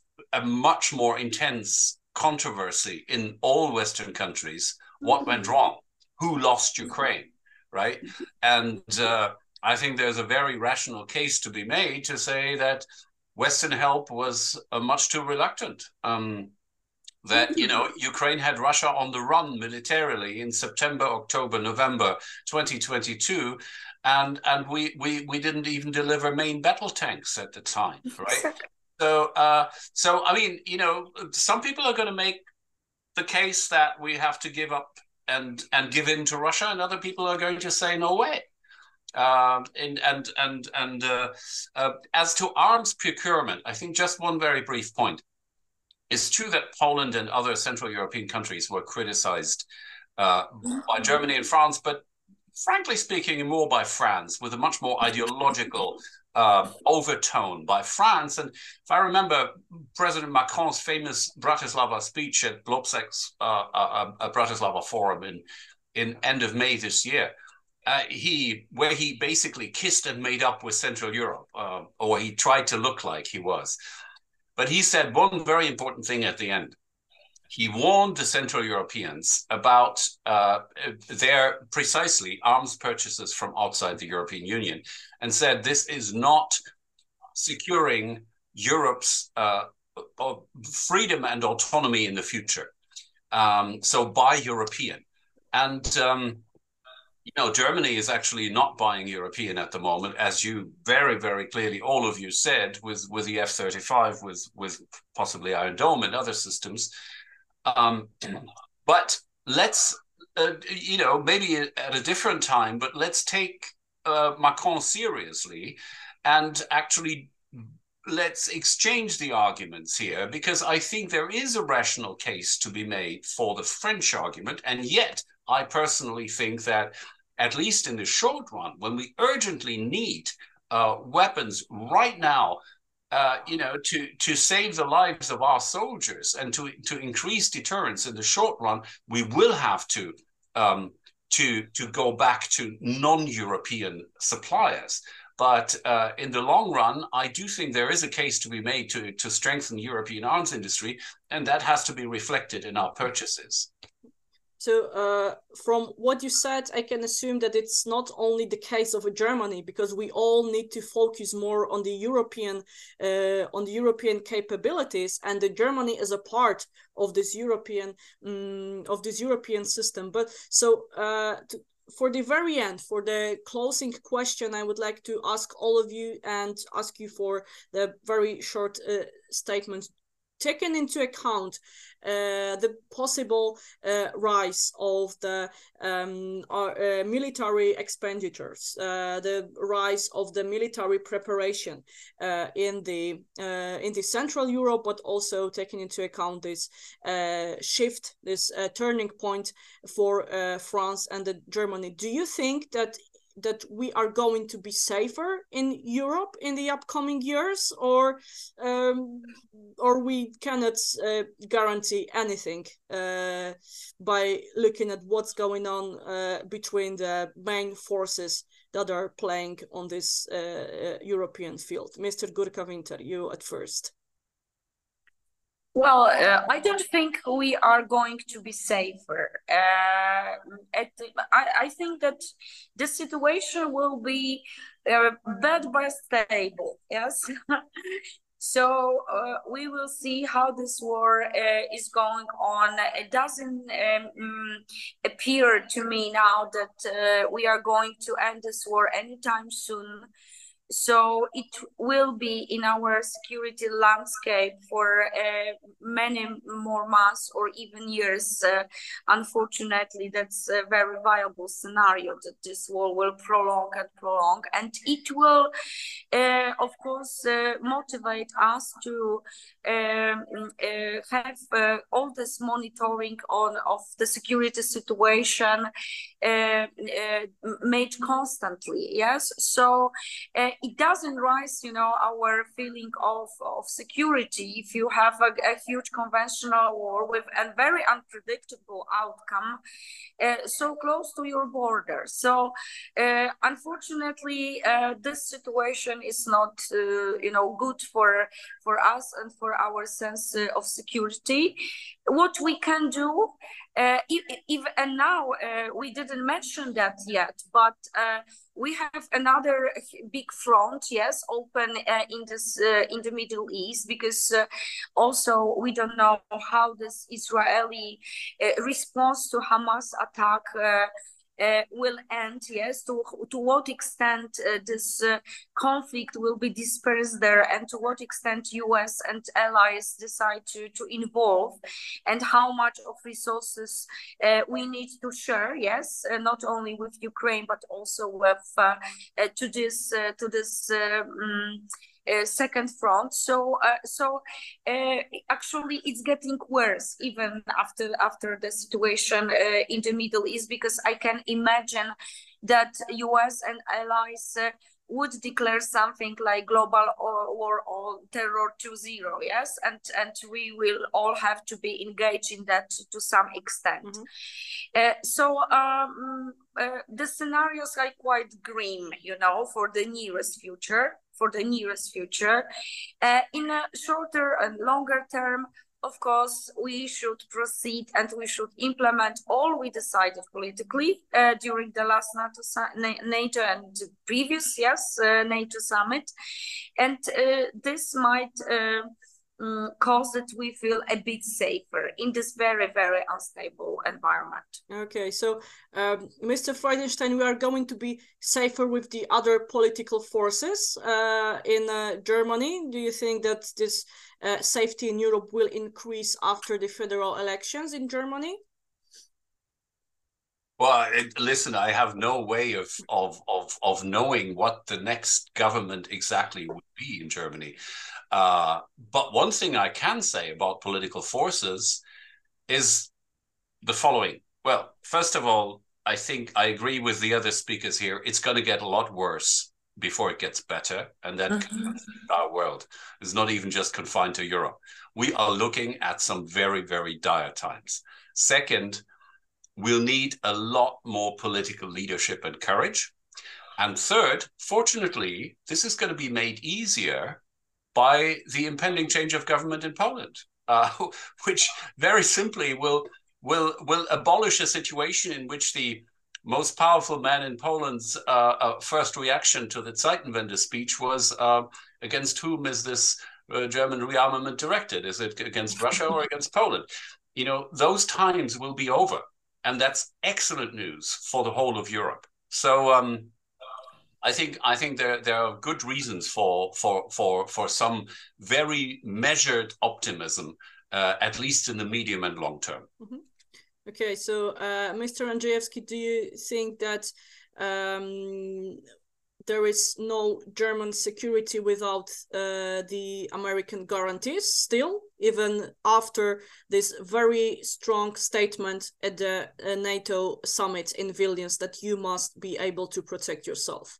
a much more intense controversy in all Western countries. What went wrong? Who lost Ukraine? Right? And uh, I think there's a very rational case to be made to say that Western help was uh, much too reluctant. Um, that, you know, Ukraine had Russia on the run militarily in September, October, November twenty twenty-two, and and we we we didn't even deliver main battle tanks at the time, right? So uh, so I mean, you know, some people are going to make the case that we have to give up and and give in to Russia, and other people are going to say no way. Um, and and and and uh, uh, as to arms procurement, I think just one very brief point. It's true that Poland and other Central European countries were criticized uh, by Germany and France, but frankly speaking, more by France, with a much more ideological uh, overtone by France. And if I remember President Macron's famous Bratislava speech at Globsek's uh, uh, uh, Bratislava Forum in, in end of May this year, uh, he where he basically kissed and made up with Central Europe, uh, or he tried to look like he was. But he said one very important thing at the end. he warned the Central Europeans about uh, their precisely arms purchases from outside the European Union, and said this is not securing Europe's uh, freedom and autonomy in the future. Um, so buy European. And um, you know, Germany is actually not buying European at the moment, as you very, very clearly, all of you said, with, with the F thirty-five, with, with possibly Iron Dome and other systems. Um, but let's, uh, you know, maybe at a different time, but let's take uh, Macron seriously and actually let's exchange the arguments here, because I think there is a rational case to be made for the French argument. And yet, I personally think that, at least in the short run, when we urgently need uh, weapons right now, uh, you know, to, to save the lives of our soldiers and to, to increase deterrence in the short run, we will have to, um, to, to go back to non-European suppliers. But uh, in the long run, I do think there is a case to be made to, to strengthen European arms industry, and that has to be reflected in our purchases. So uh, from what you said, I can assume that it's not only the case of Germany, because we all need to focus more on the European uh, on the European capabilities, and the Germany is a part of this European um, of this European system. But so uh, to, for the very end, for the closing question, I would like to ask all of you and ask you for the very short uh, statement. Taken into account uh, the possible uh, rise of the um, uh, military expenditures, uh, the rise of the military preparation uh, in the uh, in the Central Europe, but also taking into account this uh, shift, this uh, turning point for uh, France and the Germany. Do you think that that we are going to be safer in Europe in the upcoming years, or um, or we cannot uh, guarantee anything uh, by looking at what's going on uh, between the main forces that are playing on this uh, European field? Mister Gurka-Winter, you at first. Well, uh, I don't think we are going to be safer. Uh, at, I, I think that the situation will be uh, bad but stable, yes? So uh, we will see how this war uh, is going on. It doesn't um, appear to me now that uh, we are going to end this war anytime soon. So it will be in our security landscape for uh, many more months or even years. Uh, unfortunately, that's a very viable scenario that this war will prolong and prolong. And it will, uh, of course, uh, motivate us to um, uh, have uh, all this monitoring on of the security situation uh, uh, made constantly. Yes, so uh, it doesn't rise, you know, our feeling of of security if you have a, a huge conventional war with a very unpredictable outcome uh, so close to your border. So uh, unfortunately, uh, this situation is not, uh, you know, good for for us and for our sense uh, of security. What we can do, uh, if, if, and now uh, we didn't mention that yet, but uh, we have another big front, yes, open uh, in this uh, in the Middle East, because uh, also we don't know how this Israeli uh, response to Hamas attack uh, Uh, will end, yes, to, to what extent uh, this uh, conflict will be dispersed there, and to what extent U S and allies decide to, to involve, and how much of resources uh, we need to share, yes, uh, not only with Ukraine, but also with uh, uh, to this, uh, to this um, Uh, second front. So uh, so uh, actually it's getting worse even after after the situation uh, in the Middle East, because I can imagine that U S and allies uh, would declare something like global war on terror two point oh, yes, and and we will all have to be engaged in that to some extent. Mm-hmm. uh, so um, uh, the scenarios are quite grim, you know, for the nearest future. For the nearest future, uh, in a shorter and longer term, of course, we should proceed and we should implement all we decided politically uh, during the last NATO, NATO and previous, yes, uh, NATO summit. And uh, this might uh, um, cause that we feel a bit safer in this very, very unstable environment. Okay, so um, Mister Freudenstein, we are going to be safer with the other political forces uh, in uh, Germany. Do you think that this uh, safety in Europe will increase after the federal elections in Germany? Well, it, listen, I have no way of, of, of, of knowing what the next government exactly would be in Germany. Uh, but one thing I can say about political forces is the following. Well, first of all, I think I agree with the other speakers here. It's going to get a lot worse before it gets better. And that mm-hmm. our world is not even just confined to Europe. We are looking at some very, very dire times. Second, we'll need a lot more political leadership and courage. And third, fortunately, this is going to be made easier by the impending change of government in Poland, uh, which very simply will, will, will abolish a situation in which the most powerful man in Poland's uh, uh, first reaction to the Zeitenwende speech was, uh, against whom is this uh, German rearmament directed? Is it against Russia or against Poland? You know, those times will be over. And that's excellent news for the whole of Europe. So um, I think I think there there are good reasons for for for for some very measured optimism, uh, at least in the medium and long term. Mm-hmm. Okay, so uh, Mister Andrzejewski, do you think that um, there is no German security without uh, the American guarantees still, even after this very strong statement at the uh, NATO summit in Vilnius that you must be able to protect yourself?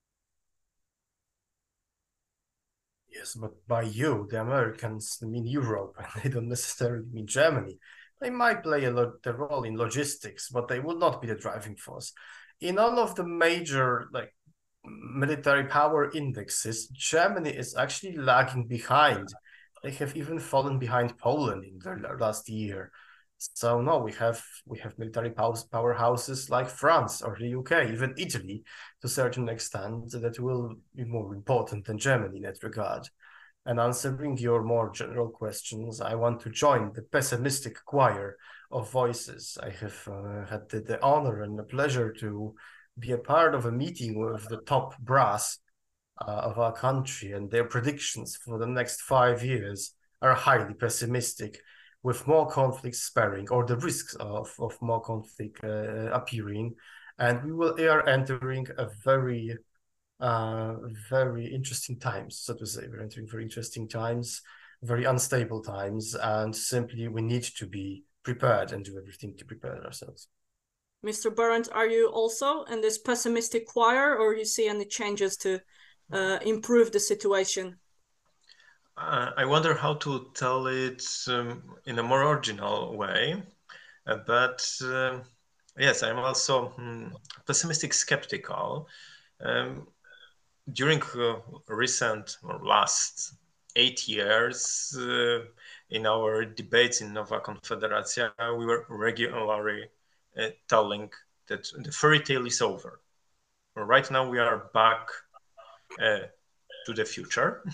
Yes, but by you, the Americans mean Europe, and they don't necessarily mean Germany. They might play a lot the role in logistics, but they will not be the driving force. In all of the major, like, military power indexes, Germany is actually lagging behind. They have even fallen behind Poland in the last year. So no, we have we have military powerhouses like France or the U K, even Italy, to a certain extent, that will be more important than Germany in that regard. And answering your more general questions, I want to join the pessimistic choir of voices. I have uh, had the, the honor and the pleasure to be a part of a meeting with the top brass uh, of our country, and their predictions for the next five years are highly pessimistic, with more conflicts sparing, or the risks of, of more conflict uh, appearing. And we will are entering a very, uh, very interesting times, so to say. We're entering very interesting times, very unstable times, and simply we need to be prepared and do everything to prepare ourselves. Mister Barent, are you also in this pessimistic choir, or you see any changes to uh, improve the situation? Uh, I wonder how to tell it um, in a more original way, uh, but uh, yes, I'm also um, pessimistic skeptical. Um, during uh, recent or last eight years, uh, in our debates in Nowa Konfederacja, we were regularly uh, telling that the fairy tale is over. Right now we are back uh, to the future.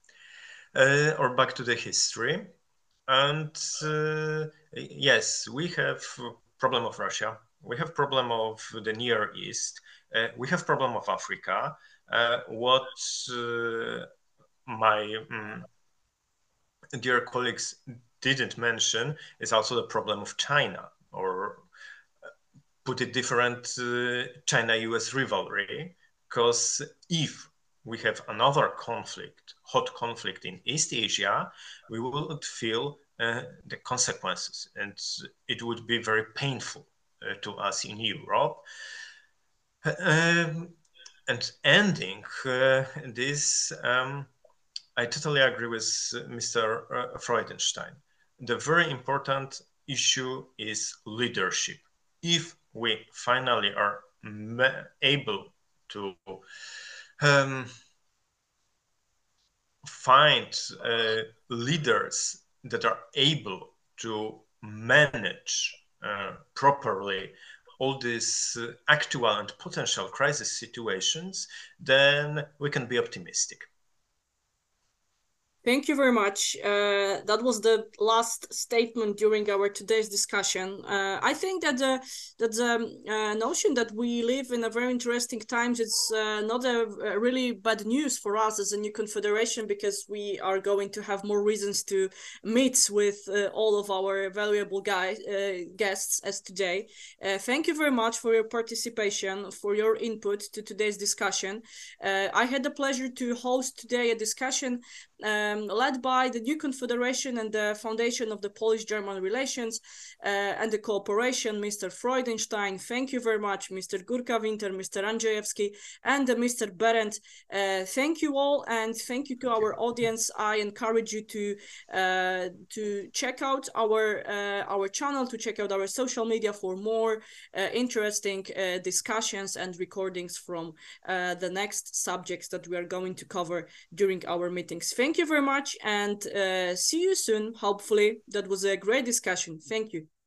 Uh, or back to the history. And uh, yes, we have problem of Russia. We have problem of the Near East. Uh, we have problem of Africa. Uh, what uh, my um, dear colleagues didn't mention is also the problem of China, or put it different, uh, China-U S rivalry. Because if we have another conflict, hot conflict in East Asia, we would feel uh, the consequences, and it would be very painful uh, to us in Europe. Um, and ending uh, this, um, I totally agree with Mister Uh, Freudenstein. The very important issue is leadership. If we finally are able to um, find uh, leaders that are able to manage uh, properly all these uh, actual and potential crisis situations, then we can be optimistic. Thank you very much. Uh, that was the last statement during our today's discussion. Uh, I think that the that the uh, notion that we live in a very interesting times is uh, not a, a really bad news for us as a new confederation, because we are going to have more reasons to meet with uh, all of our valuable guys, uh, guests as today. Uh, thank you very much for your participation, for your input to today's discussion. Uh, I had the pleasure to host today a discussion Um, led by the new confederation and the foundation of the Polish-German relations uh, and the cooperation, Mister Freudenstein. Thank you very much, Mister Gurka-Winter, Mister Andrzejewski, and uh, Mister Berendt. Uh, thank you all, and thank you to our audience. I encourage you to uh, to check out our uh, our channel, to check out our social media for more uh, interesting uh, discussions and recordings from uh, the next subjects that we are going to cover during our meetings. Thank you very much, and uh, see you soon. Hopefully, that was a great discussion. Thank you.